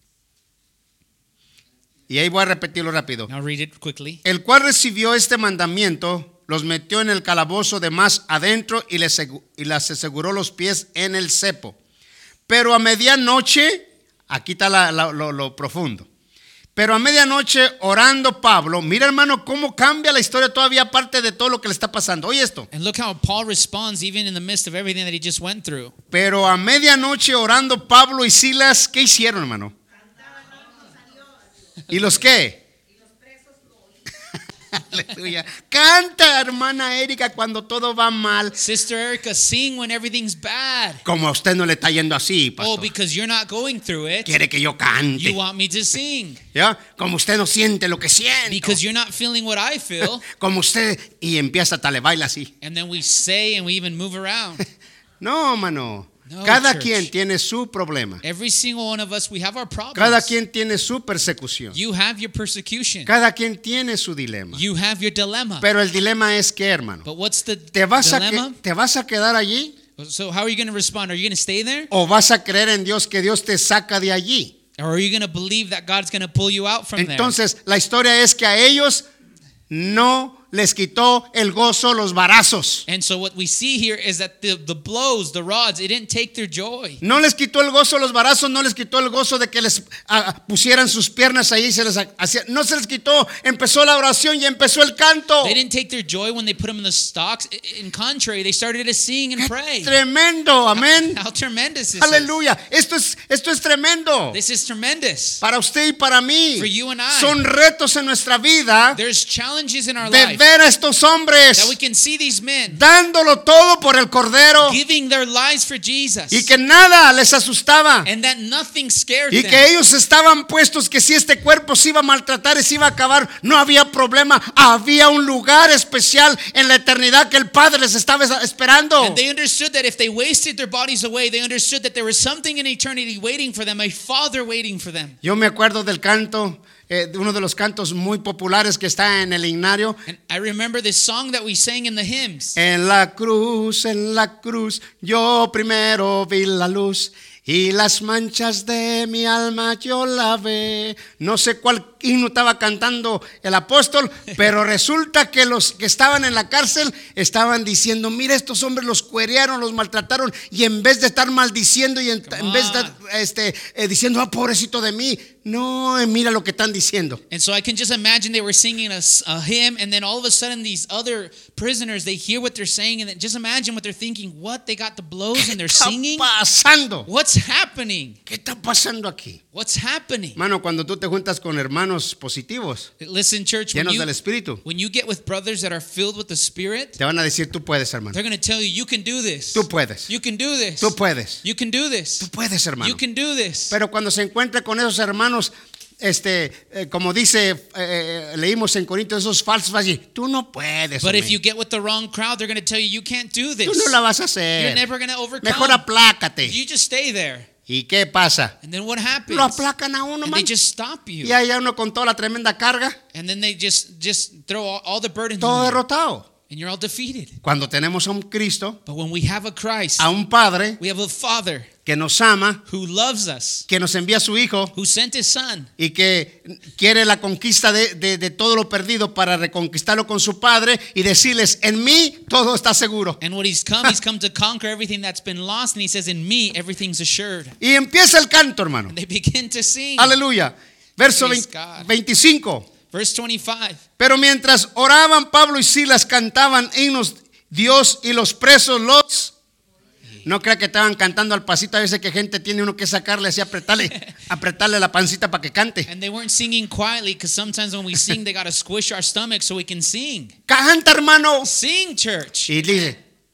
S2: Y ahí voy a repetirlo rápido.
S3: Now read it quickly.
S2: El cual recibió este mandamiento, los metió en el calabozo de más adentro y les, y les aseguró los pies en el cepo. Pero a medianoche, aquí está la, la, lo, lo profundo. Pero a medianoche orando Pablo, mira hermano cómo cambia la historia todavía aparte de todo lo que le está pasando. Oye esto.
S3: And look how Paul responds even in the midst of everything that he just went through.
S2: Pero a medianoche orando Pablo y Silas, ¿qué hicieron, hermano? ¿Y los qué? Aleluya. Canta, hermana Erika, cuando todo va mal.
S3: Sister Erica, sing when everything's bad.
S2: Como a usted no le está yendo así,
S3: Oh,
S2: pastor.
S3: because you're not going through it.
S2: Quiere que yo
S3: You
S2: cante.
S3: want me to sing.
S2: ¿Ya? Como usted no siente lo que siente.
S3: Because you're not feeling what I feel.
S2: Como usted, y empieza hasta le baila así.
S3: And then we say and we even move around.
S2: No, mano.
S3: No,
S2: Cada
S3: church.
S2: quien tiene su problema.
S3: Every single one of us, we have our problems.
S2: Cada quien tiene su persecución.
S3: You have your persecution.
S2: Cada quien tiene su dilema.
S3: You have your dilemma.
S2: Pero el dilema es que, hermano,
S3: But what's the
S2: ¿te vas, a
S3: dilemma?
S2: que- ¿te vas a quedar allí
S3: So how are you going to respond? Are you going to stay there?
S2: o vas a creer en Dios que Dios te saca de allí?
S3: Or are you going to believe that God's going to pull you out from
S2: Entonces, la historia es que a ellos no les quitó el gozo los varazos.
S3: there? And so what we see here is that the, the blows, the rods, it didn't take their joy.
S2: No les quitó el gozo los varazos, no les quitó el gozo de que les ah, pusieran sus piernas ahí y se les hacía, no se les quitó. Empezó la oración y empezó el canto.
S3: They didn't take their joy when they put them in the stocks. I- In contrary, they started to sing and pray.
S2: Tremendo, amén.
S3: How tremendous is
S2: Aleluya. Esto es esto es tremendo.
S3: this? This is tremendous.
S2: Para usted y para mí.
S3: For you and I.
S2: Son retos en nuestra vida
S3: There's challenges in our
S2: de
S3: life
S2: ver a estos hombres
S3: that we can see these men
S2: dándolo todo por el Cordero
S3: giving their lives for Jesus,
S2: y que nada les asustaba.
S3: and that nothing scared
S2: Y
S3: them.
S2: que ellos estaban puestos que si este cuerpo se iba a maltratar y se iba a acabar, no había problema. Había un lugar especial en la eternidad que el Padre les estaba esperando.
S3: And they understood that if they wasted their bodies away, they understood that there was something in eternity waiting for them, a Father waiting for them.
S2: Yo me acuerdo del canto, eh, de uno de los cantos muy populares que está en el himnario.
S3: And I remember this song that we sang in the hymns.
S2: En la cruz, en la cruz, yo primero vi la luz y las manchas de mi alma yo lavé. No sé cuál himno estaba cantando el apóstol, pero resulta que los que estaban en la cárcel estaban diciendo, mira, estos hombres los cuerearon, los maltrataron, y en vez de estar maldiciendo y en, en vez de estar este, eh, diciendo, ah, pobrecito de mí, no, eh, mira lo que están diciendo.
S3: And so I can just imagine they were singing a, s- a hymn, and then all of a sudden these other prisoners, they hear what they're saying, and then just imagine what they're thinking. What? They got the blows and they're
S2: ¿Qué
S3: singing?
S2: está pasando?
S3: What's happening?
S2: ¿Qué está pasando aquí?
S3: What's happening?
S2: Mano, cuando tú te juntas con hermanos positivos,
S3: Listen, church, when
S2: llenos
S3: you,
S2: del Espíritu,
S3: when you get with brothers that are filled with the Spirit,
S2: te van a decir, tú puedes, hermano.
S3: they're going to tell you, you can do this.
S2: Tú puedes.
S3: You can do this.
S2: Tú puedes.
S3: You can do this.
S2: Tú puedes, hermano.
S3: You can do this.
S2: Pero cuando se encuentra con esos hermanos, este, eh, como dice, eh, leímos en Corintios, esos falsos, va a decir, tú no puedes.
S3: But
S2: hombre.
S3: if you get with the wrong crowd, they're going to tell you, you can't do this.
S2: Tú no la vas a
S3: You're
S2: hacer.
S3: never going to overcome.
S2: Mejor aplácate.
S3: You just stay there.
S2: ¿Y qué pasa?
S3: And then what happens?
S2: Lo aplacan a uno,
S3: And
S2: man.
S3: they just stop you.
S2: Y allá uno con toda la tremenda carga,
S3: And then they just just throw all, all the burdens
S2: todo
S3: on you.
S2: derrotado.
S3: And you're all defeated.
S2: Cuando tenemos a un Cristo,
S3: But when we have a Christ,
S2: a un Padre
S3: we have a Father
S2: que nos ama,
S3: who loves us,
S2: que nos envía a su Hijo
S3: who sent His Son,
S2: y que quiere la conquista de, de, de todo lo perdido para reconquistarlo con su Padre y decirles, en mí todo está seguro.
S3: and what He's come, He's come to conquer everything that's been lost. And He says, in me, everything's assured.
S2: Y empieza el canto, hermano.
S3: And they begin to sing.
S2: Aleluya. Verso
S3: Praise
S2: veinte,
S3: God.
S2: veinticinco.
S3: Verse twenty-five.
S2: Pero mientras oraban, Pablo y Silas cantaban himnos Dios y los presos los... No crea que estaban cantando al pasito. A veces que gente tiene uno que sacarle así, apretarle, apretarle la pancita para que cante.
S3: And they weren't singing quietly because sometimes when we sing, they got to squish our stomach so we can sing.
S2: Canta, hermano.
S3: Sing, church.
S2: Y dice,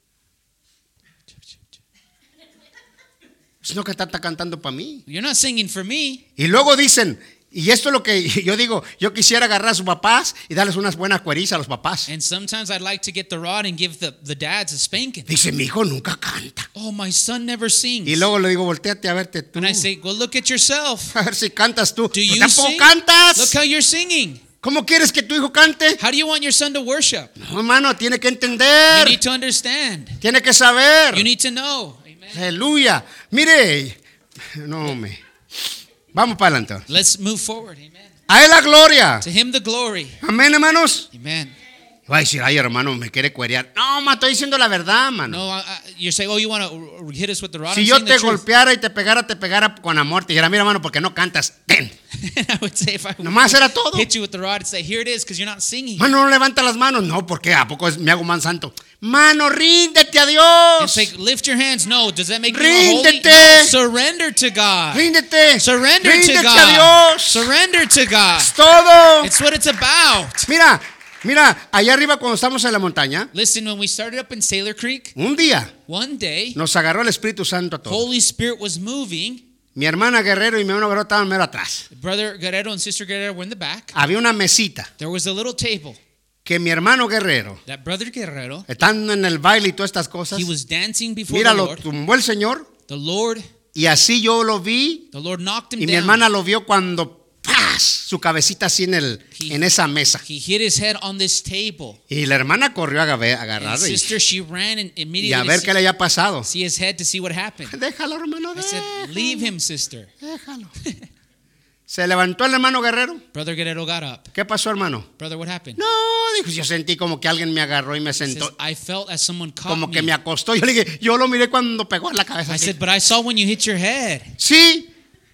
S2: pues no que está, está cantando para mí.
S3: You're not singing for me.
S2: Y luego dicen, y esto es lo que yo digo, yo quisiera agarrar a sus papás y darles unas buenas cuerizas a los papás.
S3: And sometimes I'd like to get the rod and give the, the dads a spanking.
S2: Dice, mi hijo nunca canta.
S3: Oh, my son never sings.
S2: Y luego le digo, volteate a verte tú.
S3: And I say, well, look at yourself.
S2: A ver si cantas tú.
S3: Do
S2: Pues
S3: you
S2: tampoco
S3: sing?
S2: cantas.
S3: Look how you're singing.
S2: ¿Cómo quieres que tu hijo cante?
S3: How do you want your son to worship?
S2: No, hermano, tiene que
S3: You
S2: entender.
S3: need to understand.
S2: Tiene que saber.
S3: You need to know. Amen.
S2: Aleluya. Mire, no me. Vamos para adelante.
S3: Let's move forward. Amen.
S2: A él la gloria.
S3: To him the glory.
S2: Amén, hermanos.
S3: Amen.
S2: Va a decir, ay, hermano, me quiere cuerear. No, ma, estoy diciendo la verdad, mano.
S3: No, I, I, you're saying, oh, you want to hit us with the rod?
S2: Si
S3: I'm
S2: yo
S3: saying
S2: te
S3: the truth.
S2: golpeara y te pegara, te pegara con amor, te dijera, mira, hermano, porque no cantas. Ten.
S3: I would say if I would
S2: Nomás era todo.
S3: hit you with the rod and say, here it is, because you're not singing.
S2: Mano, no levanta las manos. No, porque ¿a poco es, me hago man santo? Mano, ríndete a
S3: And
S2: Dios.
S3: say, lift your hands. No, does that make you more holy?
S2: Ríndete.
S3: No, surrender to God.
S2: Ríndete.
S3: Surrender to
S2: Ríndete
S3: God.
S2: a Dios.
S3: Surrender to God.
S2: Es todo.
S3: It's what it's about.
S2: Mira, mira, allá arriba cuando estamos en la montaña,
S3: Listen, when we started up in Sailor Creek,
S2: un día
S3: one day,
S2: nos agarró el Espíritu Santo a todos.
S3: Holy Spirit was moving.
S2: Mi hermana Guerrero y mi hermano Guerrero estaban mero atrás.
S3: Brother Guerrero and Sister Guerrero were in the back.
S2: Había una mesita
S3: There was a little table
S2: que mi hermano Guerrero,
S3: that Brother Guerrero,
S2: estando en el baile y todas estas cosas,
S3: he was dancing before
S2: mira,
S3: the
S2: lo
S3: Lord.
S2: tumbó el Señor
S3: The Lord,
S2: y así yo lo vi
S3: the Lord knocked him
S2: y mi
S3: down.
S2: hermana lo vio cuando ¡paz! Su cabecita así en, el,
S3: He-
S2: en esa mesa.
S3: He hit his head on this table.
S2: Y la hermana corrió a agarrar- a
S3: And
S2: agarrarle y,
S3: sister, she ran and
S2: y
S3: immediately
S2: a ver
S3: to
S2: qué le haya pasado.
S3: see his head to see what happened.
S2: Déjalo, hermano,
S3: I said,
S2: déjalo,
S3: leave him, sister.
S2: déjalo. Se levantó el hermano Guerrero.
S3: Brother Guerrero got up.
S2: ¿Qué pasó, hermano?
S3: Brother, what happened?
S2: No, dijo, yo sentí como que alguien me agarró y me
S3: He says,
S2: sentó,
S3: I felt as someone caught
S2: como que
S3: me.
S2: me acostó. Yo le dije, yo lo miré cuando pegó en la cabeza.
S3: I
S2: así.
S3: said, but I saw when you hit your head.
S2: Sí.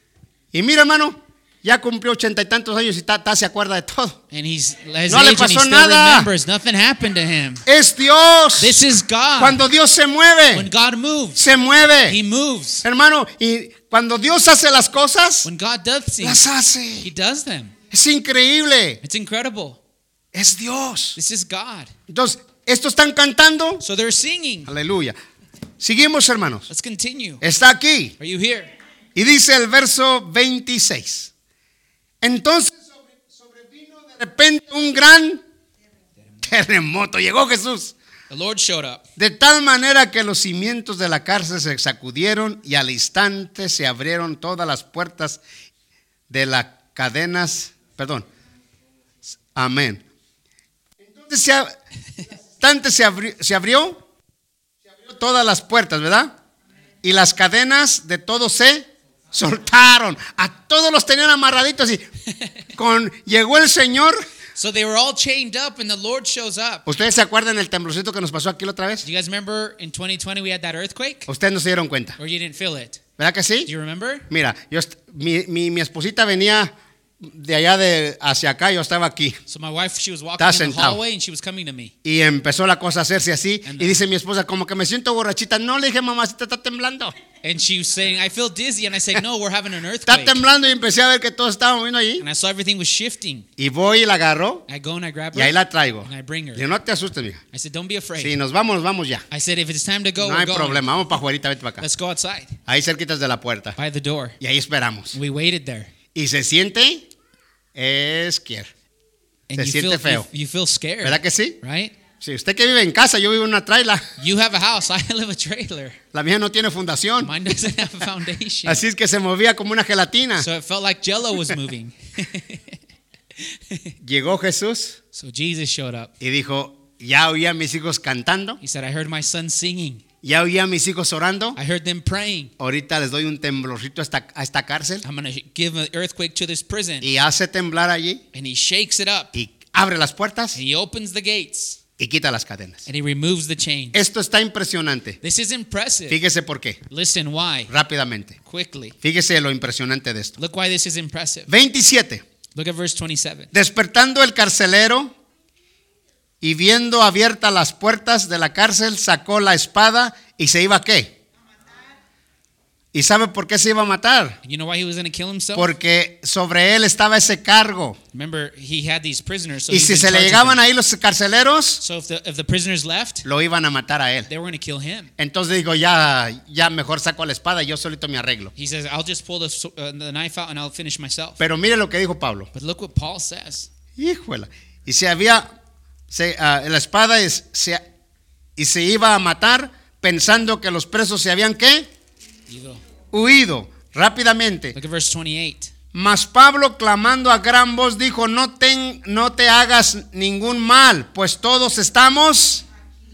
S2: Y mira, hermano, ya cumplió ochenta y tantos años y está, está- se acuerda de todo.
S3: And he's his
S2: No le
S3: age and he
S2: pasó
S3: still
S2: nada.
S3: remembers. Nothing happened to him.
S2: Es Dios.
S3: This is God.
S2: Cuando Dios se
S3: When
S2: mueve,
S3: God moves,
S2: se mueve.
S3: He moves.
S2: Hermano, y cuando Dios hace las cosas,
S3: When God does things,
S2: las
S3: He
S2: hace.
S3: does them.
S2: Es increíble.
S3: It's incredible.
S2: Es Dios.
S3: This is God.
S2: Entonces, estos están cantando.
S3: So they're singing.
S2: Aleluya. Seguimos, hermanos.
S3: Let's continue.
S2: Está aquí.
S3: Are you here?
S2: Y dice el verso veintiséis. Entonces sobre- sobrevino de repente un gran terremoto. Llegó Jesús.
S3: The Lord showed up.
S2: De tal manera que los cimientos de la cárcel se sacudieron y al instante se abrieron todas las puertas de las cadenas. Perdón. Amén. Entonces se, ab- al instante se abrió, se abrió, se abrió todas las puertas, ¿verdad? Y las cadenas de todos se soltaron. A todos los tenían amarraditos y con llegó el Señor.
S3: So they were all chained up, and the Lord shows up.
S2: ¿Ustedes se acuerdan del temblorcito que nos pasó aquí la otra vez?
S3: Do you guys remember in twenty twenty we had that earthquake?
S2: Ustedes no se dieron cuenta,
S3: Or you didn't feel it?
S2: ¿verdad que sí?
S3: Do you remember?
S2: Mira, yo est- mi, mi, mi esposita venía de allá de hacia acá, yo estaba aquí.
S3: So my wife, she was walking
S2: Está
S3: in the
S2: sentado.
S3: hallway, and she was coming to me.
S2: Y empezó la cosa a hacerse así.
S3: And
S2: Y dice mi esposa, como que me siento borrachita. No, le dije, mamacita, está temblando.
S3: And she was saying, I feel dizzy. And I said, no, we're having an
S2: Está
S3: earthquake.
S2: temblando y empecé a ver que todos estaban moviendo allí.
S3: And I saw everything was shifting.
S2: Y voy y la agarro
S3: I go and I grab
S2: y ahí
S3: her,
S2: la traigo.
S3: and I bring her.
S2: Y no te asustes, mija.
S3: I said, don't be afraid.
S2: Si nos vamos, nos vamos ya.
S3: I said, if it's time to go,
S2: No
S3: we're
S2: hay
S3: going.
S2: problema. Vamos para afuera, vete para acá.
S3: Let's go outside.
S2: Ahí cerquitas de la puerta.
S3: By the door.
S2: Y ahí esperamos.
S3: We waited there.
S2: Y se siente esquier.
S3: And
S2: Se
S3: you
S2: siente
S3: feel,
S2: feo.
S3: You, you feel scared.
S2: ¿Verdad que sí?
S3: Right?
S2: Si usted que vive en casa, yo vivo en una traila.
S3: You have a house. I live a trailer.
S2: La mía no tiene fundación.
S3: Mine doesn't have a foundation.
S2: Así es que se movía como una gelatina.
S3: So it felt like Jello was moving.
S2: Llegó Jesús
S3: So Jesus showed up.
S2: y dijo, ya oía a mis hijos cantando,
S3: He said, I heard my son singing.
S2: ya oía a mis hijos orando.
S3: I heard them praying.
S2: Ahorita les doy un temblorcito a esta, a esta cárcel.
S3: I'm going to give an earthquake to this prison.
S2: Y hace temblar allí
S3: And he shakes it up.
S2: y abre las puertas
S3: And he opens the gates.
S2: y quita las cadenas.
S3: And he removes the chains.
S2: Esto está impresionante.
S3: This is impressive.
S2: Fíjese por qué.
S3: Listen why.
S2: Rápidamente.
S3: Quickly.
S2: Fíjese lo impresionante de esto.
S3: Look why this is impressive.
S2: veintisiete.
S3: Look at verse twenty-seven.
S2: Despertando el carcelero y viendo abiertas las puertas de la cárcel, sacó la espada y se iba ¿a qué? ¿Y sabe por qué se iba a matar?
S3: You know why he was going to kill himself?
S2: Porque sobre él estaba ese cargo.
S3: Remember, he had these prisoners. So
S2: Y
S3: he was
S2: si
S3: in
S2: se le
S3: charge of
S2: llegaban
S3: them.
S2: ahí los carceleros,
S3: So if the, if the prisoners left,
S2: lo iban a matar a él.
S3: they were going to kill him.
S2: Entonces digo, ya, ya mejor saco la espada y yo solito me arreglo.
S3: He says, I'll just pull the, s- uh, the knife out and I'll finish myself.
S2: Pero mire lo que dijo Pablo.
S3: But look what Paul says.
S2: Híjole. Y se había, se, ah, la espada es, se, y se iba a matar pensando que los presos se habían ¿qué?
S3: Ido.
S2: Huido rápidamente.
S3: Look at verse twenty-eight.
S2: Mas Pablo clamando a gran voz dijo, no, ten, no te hagas ningún mal, pues todos estamos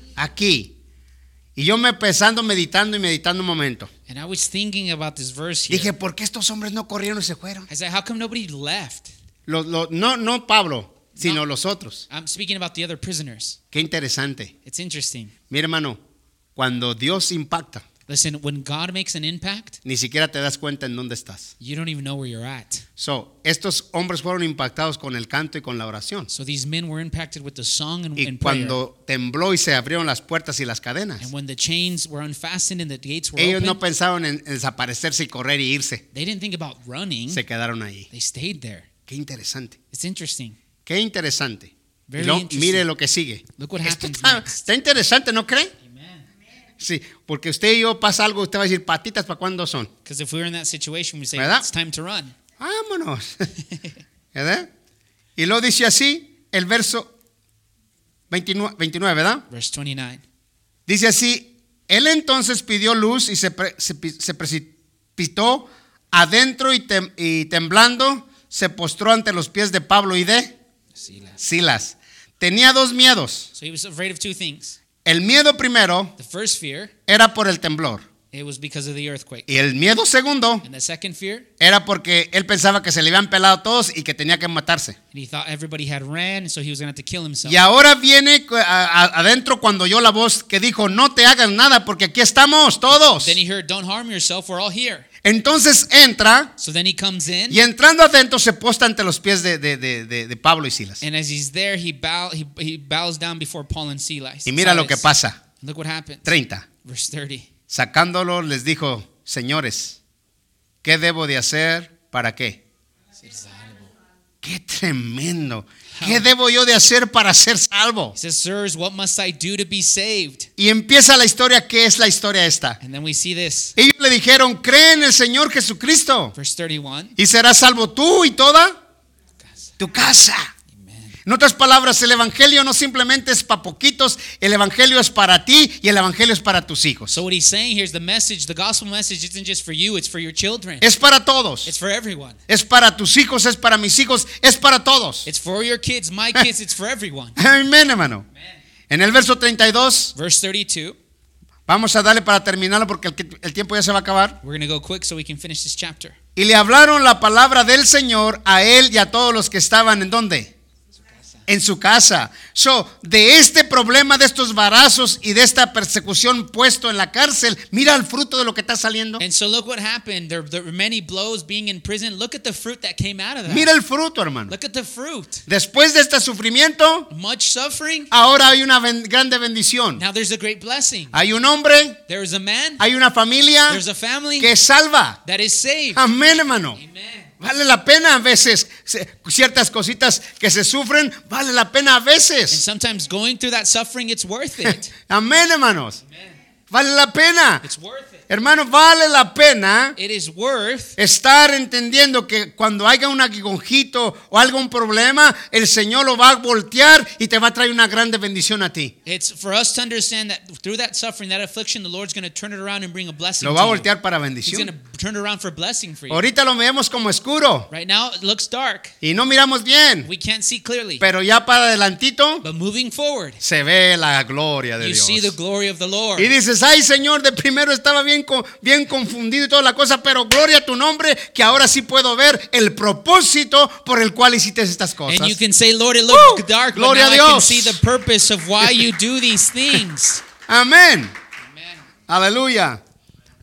S2: aquí. Y yo me pensando, meditando y meditando un momento.
S3: And I was thinking about this verse here.
S2: Dije, ¿por qué estos hombres no corrieron y se fueron?
S3: I said, how come nobody left?
S2: Los, los, no, no Pablo, sino
S3: No.
S2: los otros.
S3: I'm speaking about the other prisoners.
S2: Qué interesante.
S3: It's interesting.
S2: Mira, hermano, cuando Dios impacta,
S3: Listen, when God makes an impact,
S2: ni siquiera te das cuenta en dónde estás.
S3: you don't even know where you're at.
S2: So, estos hombres fueron impactados con el canto y con la oración.
S3: So these men were impacted with the song and,
S2: Y
S3: and prayer.
S2: cuando tembló y se abrieron las puertas y las cadenas,
S3: And when the chains were unfastened and the gates were
S2: ellos
S3: open,
S2: no pensaban en en desaparecerse y correr y irse.
S3: they didn't think about running.
S2: Se quedaron ahí.
S3: They stayed there.
S2: Qué interesante.
S3: It's interesting.
S2: Qué interesante. Y
S3: Very
S2: luego,
S3: interesting.
S2: mire lo que sigue.
S3: Look what
S2: Esto
S3: happens
S2: está,
S3: next.
S2: está interesante, ¿no cree?
S3: Amen.
S2: Sí, porque usted y yo pasa algo, usted va a decir, patitas, ¿para cuándo son?
S3: Because if we were in that situation, we say,
S2: ¿Verdad?
S3: it's time to run.
S2: Vámonos. ¿Verdad? Y luego dice así, el verso veintinueve, veintinueve, ¿verdad?
S3: Verse twenty-nine.
S2: Dice así, él entonces pidió luz y se, pre- se, pi- se precipitó adentro y, tem- y temblando se postró ante los pies de Pablo y de
S3: Silas.
S2: Silas. Tenía dos miedos.
S3: So he was afraid of two things.
S2: El miedo primero
S3: The first fear,
S2: era por el temblor.
S3: it was because of the earthquake.
S2: Y el miedo segundo
S3: And the second fear,
S2: era porque él pensaba que se le habían pelado todos y que tenía que matarse.
S3: and he thought everybody had ran, so he was going to have to kill himself.
S2: Y ahora viene a- a- adentro cuando oyó la voz que dijo, no te hagas nada porque aquí estamos todos.
S3: Then he heard, don't harm yourself, we're all here.
S2: Entonces entra
S3: So then he comes in,
S2: y entrando adentro se posta ante los pies de, de- de- de- de Pablo y Silas.
S3: and as he's there, he, bow, he, he bows down before Paul and Silas.
S2: Y mira lo que
S3: Silas.
S2: pasa.
S3: Look what happened.
S2: treinta.
S3: Verse thirty.
S2: Sacándolo les dijo, señores, ¿qué debo de hacer para qué? Qué tremendo. ¿Qué debo yo de hacer para ser salvo?
S3: He says, sirs, what must I do to be saved?
S2: Y empieza la historia. ¿Qué es la historia esta?
S3: And then we see this.
S2: Ellos le dijeron, cree en el Señor Jesucristo
S3: Verse thirty-one.
S2: y serás salvo tú y toda tu casa.
S3: Amen.
S2: En otras palabras, el evangelio no simplemente es para poquitos, el evangelio es para ti y el evangelio es para tus hijos.
S3: So what he's saying here is the message, the gospel message isn't just for you, it's for your children.
S2: Es para todos.
S3: It's for everyone.
S2: Es para tus hijos, es para mis hijos, es para todos.
S3: It's for your kids, my kids, it's for everyone.
S2: Amén, hermano. En el verso treinta y dos,
S3: Verse thirty-two.
S2: vamos a darle para terminarlo porque el, el tiempo ya se va a acabar.
S3: We're going to go quick so we can finish this chapter.
S2: Y le hablaron la palabra del Señor a él y a todos los que estaban en ¿dónde? En su casa. So, de este problema, de estos varazos y de esta persecución puesto en la cárcel, mira el fruto de lo que está saliendo.
S3: And so look what happened. There, there were many blows being in prison. Look at the fruit that came out of that.
S2: Mira el fruto, hermano.
S3: Look at the fruit.
S2: Después de este sufrimiento,
S3: Much suffering.
S2: ahora hay una ben- grande bendición.
S3: Now there's a great blessing.
S2: Hay un hombre,
S3: There is a man.
S2: hay una familia
S3: There's a family
S2: que salva.
S3: that is saved.
S2: Amén, hermano.
S3: Amen.
S2: Vale la pena a veces, se- ciertas cositas que se sufren, vale la pena a
S3: And
S2: veces.
S3: sometimes going through that suffering, it's worth it.
S2: Amén, hermanos.
S3: Amen.
S2: Vale la pena.
S3: It's worth it.
S2: Hermano, vale la pena
S3: It is worth
S2: estar entendiendo que cuando haya un aguijojito o algún problema, el Señor lo va a voltear y te va a traer una grande bendición a ti.
S3: It's for us to understand that through that suffering, that affliction, the Lord's going to turn it around and bring a blessing
S2: Lo va a
S3: to you.
S2: voltear para
S3: He's going
S2: bendición.
S3: to turn it around for a blessing for you.
S2: Ahorita lo vemos como oscuro
S3: Right now, it looks dark.
S2: y no miramos bien,
S3: We can't see clearly.
S2: pero ya para adelantito
S3: But moving forward,
S2: se ve la gloria de
S3: you
S2: Dios.
S3: see the glory of the Lord.
S2: Y dices, ay Señor, de primero estaba bien, co- bien confundido y toda la cosa, pero gloria a tu nombre, que ahora sí puedo ver el propósito por el cual hiciste estas cosas.
S3: And you can say, Lord, it looked
S2: Woo!
S3: dark, but
S2: Gloria
S3: now
S2: a
S3: I can
S2: Dios.
S3: see the purpose of why you do these things.
S2: Amén.
S3: Amen.
S2: Aleluya.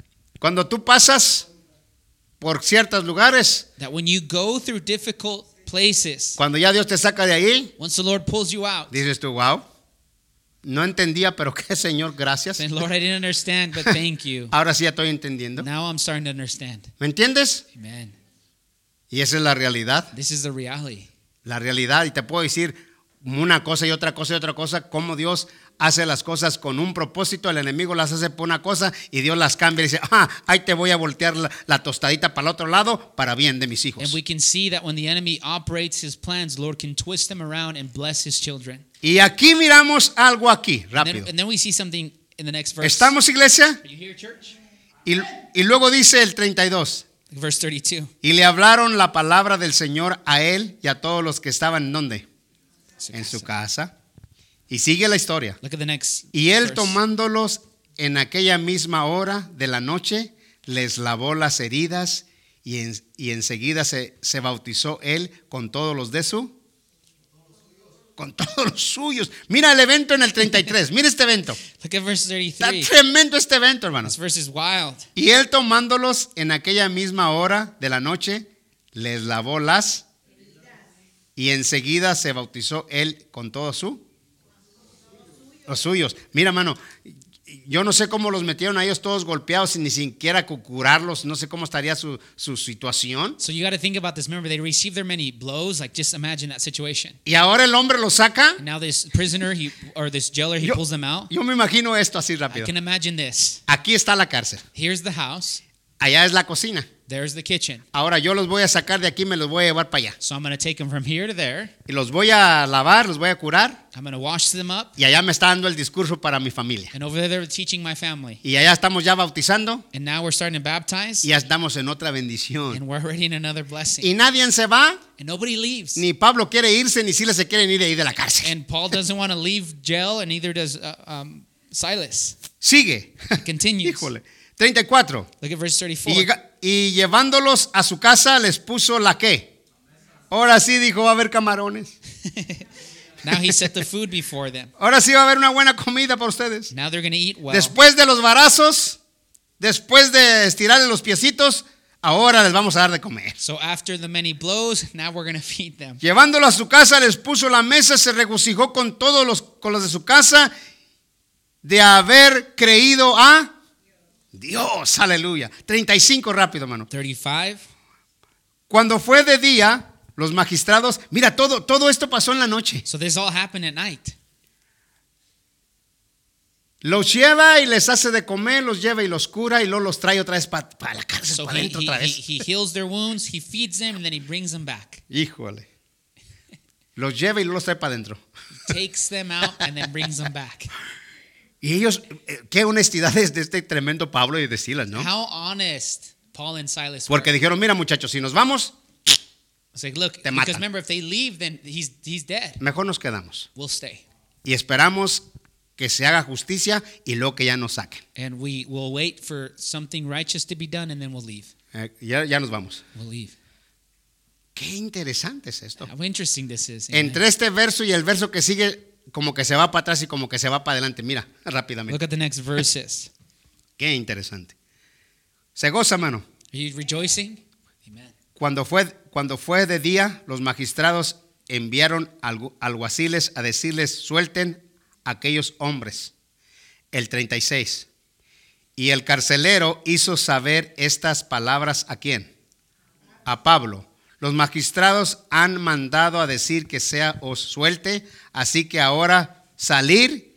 S2: Cuando tú pasas por ciertos lugares,
S3: That when you go through difficult places.
S2: Cuando ya Dios te saca de ahí,
S3: Once the Lord pulls you out,
S2: dices tú, wow, no entendía, pero qué Señor, gracias.
S3: saying, Lord, I didn't understand, but thank you.
S2: Ahora sí ya estoy entendiendo.
S3: Now I'm starting to understand.
S2: ¿Me entiendes?
S3: Amen.
S2: Y esa es la realidad.
S3: This is the reality.
S2: La realidad. Y te puedo decir una cosa y otra cosa y otra cosa, cómo Dios hace las cosas con un propósito. El enemigo las hace por una cosa y Dios las cambia y dice, ah, ahí te voy a voltear la, la tostadita para el otro lado para bien de mis hijos.
S3: And we can see that when the enemy operates his plans, the Lord can twist them around and bless his children.
S2: Y aquí miramos algo aquí,
S3: And
S2: rápido.
S3: then, and then we see something in the next verse.
S2: ¿Estamos, iglesia?
S3: Are you here, church?
S2: Y, y luego dice el treinta y dos.
S3: Verse thirty-two.
S2: Y le hablaron la palabra del Señor a él y a todos los que estaban, ¿dónde? En su casa. Y sigue la historia.
S3: Look at the next
S2: Y él
S3: verse.
S2: tomándolos en aquella misma hora de la noche, les lavó las heridas y, en, y enseguida se, se bautizó él con todos los de su, con todos los suyos. Mira el evento en el treinta y tres, mira este evento.
S3: Look at verse
S2: Está
S3: thirty-three.
S2: tremendo este evento,
S3: This
S2: hermanos.
S3: verse is wild.
S2: Y él tomándolos en aquella misma hora de la noche, les lavó las y enseguida se bautizó él con todos su, los suyos. Mira, mano, yo no sé cómo los metieron a ellos todos golpeados sin ni siquiera curarlos. No sé cómo estaría su, su situación.
S3: So you got to think about this. Remember, they received their many blows. Like, just imagine that situation.
S2: Y ahora el hombre los saca.
S3: And now this prisoner, he or this jailer, he
S2: Yo,
S3: pulls them out.
S2: yo me imagino esto así
S3: I
S2: rápido.
S3: can imagine this.
S2: Aquí está la cárcel.
S3: Here's the house.
S2: Allá es la cocina.
S3: There's the kitchen.
S2: Ahora yo los voy a sacar de aquí, me los voy a llevar para allá.
S3: So I'm going to take them from here to there.
S2: Y los voy a lavar, los voy a curar.
S3: I'm going to wash them up.
S2: Y allá me está dando el discurso para mi familia.
S3: And over there, they're teaching my family.
S2: Y allá estamos ya bautizando.
S3: And now we're starting to baptize.
S2: Y ya estamos en otra bendición.
S3: And we're already in another blessing.
S2: Y nadie se va.
S3: And nobody leaves.
S2: Ni Pablo quiere irse, ni Silas se quieren ir de ahí de la cárcel.
S3: And Paul doesn't want to leave jail, and neither does uh, um, Silas.
S2: Sigue.
S3: It continues.
S2: Híjole. treinta y cuatro.
S3: Look at verse thirty-four.
S2: Y, llega- y llevándolos a su casa les puso la qué. Ahora sí dijo, va a haber camarones.
S3: Now he set the food before them.
S2: Ahora sí va a haber una buena comida para ustedes.
S3: Now they're going to eat well.
S2: Después de los varazos, después de estirarle los piecitos, ahora les vamos a dar de comer.
S3: So after the many blows, now we're going to feed them.
S2: Llevándolo a su casa, les puso la mesa, se regocijó con todos los, con los de su casa de haber creído a Dios. Aleluya. treinta y cinco rápido, hermano.
S3: thirty-five.
S2: Cuando fue de día, los magistrados, mira, todo, todo esto pasó en la noche.
S3: So this all happened at night.
S2: Los lleva y les hace de comer, los lleva y los cura y luego los trae otra vez para pa la cárcel,
S3: So
S2: para
S3: he,
S2: adentro
S3: he,
S2: otra
S3: he,
S2: vez.
S3: he heals their wounds, he feeds them, and then he brings them back.
S2: Híjole. Los lleva y luego los trae para adentro.
S3: Takes them out and then brings them back.
S2: Y ellos, eh, qué honestidad es de este tremendo Pablo y de Silas, ¿no?
S3: How honest Paul and Silas were.
S2: Porque dijeron, mira muchachos, si nos vamos,
S3: It's like, look,
S2: Te
S3: because
S2: matan.
S3: remember, if they leave, then he's he's dead.
S2: mejor nos quedamos.
S3: We'll stay.
S2: Y esperamos que se haga justicia y luego que ya nos saquen.
S3: And we will wait for something righteous to be done, and then we'll leave.
S2: Eh, ya, ya nos vamos.
S3: We'll leave.
S2: Qué interesante es esto.
S3: How interesting this is. Amen.
S2: Entre este verso y el verso que sigue, como que se va para atrás y como que se va para adelante. Mira, rápidamente.
S3: Look at the next verses.
S2: Qué interesante. Se goza, mano.
S3: Are you rejoicing? Amen.
S2: Cuando fue, cuando fue de día, los magistrados enviaron algu- alguaciles a decirles, suelten a aquellos hombres. El treinta y seis. Y el carcelero hizo saber estas palabras ¿a quién? A Pablo. Los magistrados han mandado a decir que sea os suelte, así que ahora salir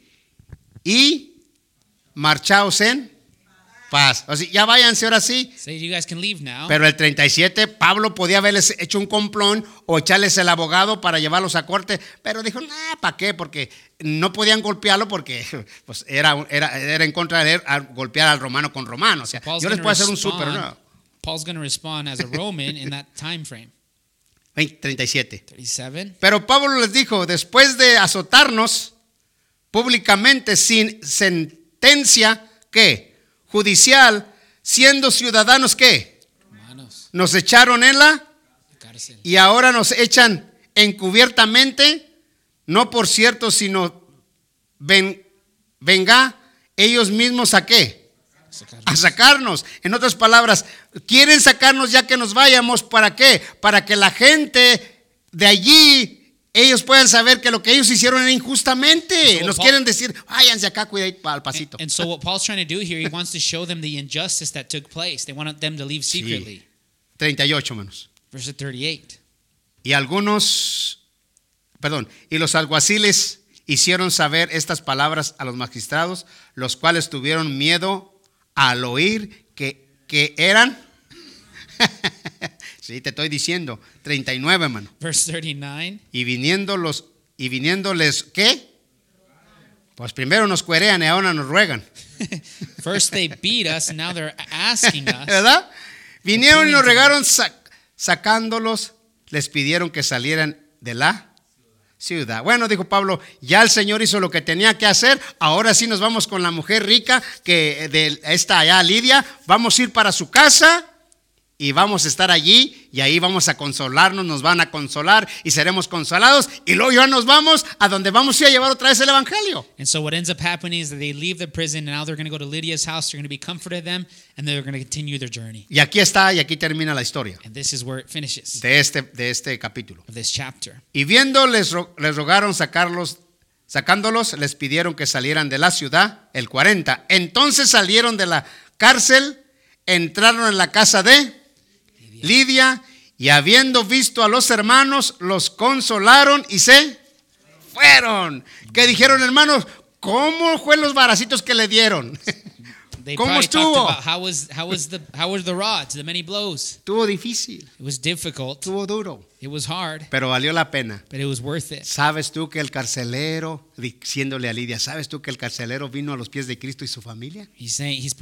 S2: y marchaos en paz. O sea, ya váyanse ahora sí.
S3: So you guys can leave now.
S2: Pero el treinta y siete, Pablo podía haberles hecho un complón o echarles el abogado para llevarlos a corte, pero dijo, nah, ¿para qué? Porque no podían golpearlo porque pues, era, era, era en contra de él a golpear al romano con romano. O sea,
S3: Paul's
S2: yo les
S3: gonna
S2: puedo hacer un
S3: respond-
S2: súper, ¿no?
S3: Paul's going to respond as a Roman in that time frame.
S2: treinta y siete.
S3: thirty-seven.
S2: Pero Pablo les dijo, después de azotarnos públicamente sin sentencia, ¿qué? Judicial, siendo ciudadanos, ¿qué?
S3: Hermanos,
S2: Nos echaron en la
S3: cárcel.
S2: y ahora nos echan encubiertamente, no por cierto, sino ven, venga ellos mismos a qué? A sacarnos. En otras palabras, quieren sacarnos ya que nos vayamos, ¿para qué? Para que la gente de allí ellos pueden saber que lo que ellos hicieron era injustamente.
S3: So
S2: Nos
S3: Paul-
S2: quieren decir, váyanse acá, cuidadito al pasito.
S3: And so what Paul's trying to do here, he wants to show them the injustice that took place. They want them to leave secretly.
S2: treinta y ocho, menos.
S3: Verse thirty-eight.
S2: Y algunos, perdón, y los alguaciles hicieron saber estas palabras a los magistrados, los cuales tuvieron miedo al oír que, que eran, sí, te estoy diciendo, treinta y nueve, hermano.
S3: Verse thirty-nine.
S2: Y viniendo los, y viniéndoles, ¿qué? Pues primero nos cuerean y ahora nos ruegan,
S3: First they beat us, and now they're asking us.
S2: ¿verdad? Vinieron y nos regaron sa- sacándolos, les pidieron que salieran de la ciudad. Bueno, dijo Pablo, ya el Señor hizo lo que tenía que hacer, ahora sí nos vamos con la mujer rica, que de esta allá, Lidia, vamos a ir para su casa y vamos a estar allí y ahí vamos a consolarnos, nos van a consolar y seremos consolados y luego ya nos vamos a donde vamos a ir a llevar otra vez el evangelio.
S3: And so what ends up happening is that they leave the prison, and now they're going to go to Lydia's house. They're going to be comforted them, and they're going to continue their journey.
S2: Y aquí está y aquí termina la historia
S3: And this is where it finishes
S2: de este, de este capítulo.
S3: of this chapter.
S2: Y viendo les, ro- les rogaron sacarlos, sacándolos, les pidieron que salieran de la ciudad, el cuarenta. Entonces salieron de la cárcel, entraron en la casa de Lidia, y habiendo visto a los hermanos, los consolaron y se fueron. ¿Qué dijeron, hermanos? ¿Cómo fue los baracitos que le dieron?
S3: They
S2: ¿Cómo
S3: probably talked
S2: estuvo?
S3: about how was how was the how were the rods, the many blows.
S2: Estuvo difícil,
S3: It was difficult.
S2: estuvo duro,
S3: It was hard,
S2: pero valió la pena.
S3: but it was worth it.
S2: ¿Sabes tú que el carcelero, diciéndole a Lidia, ¿sabes tú que el carcelero vino a los pies de Cristo y su familia?
S3: He's saying he's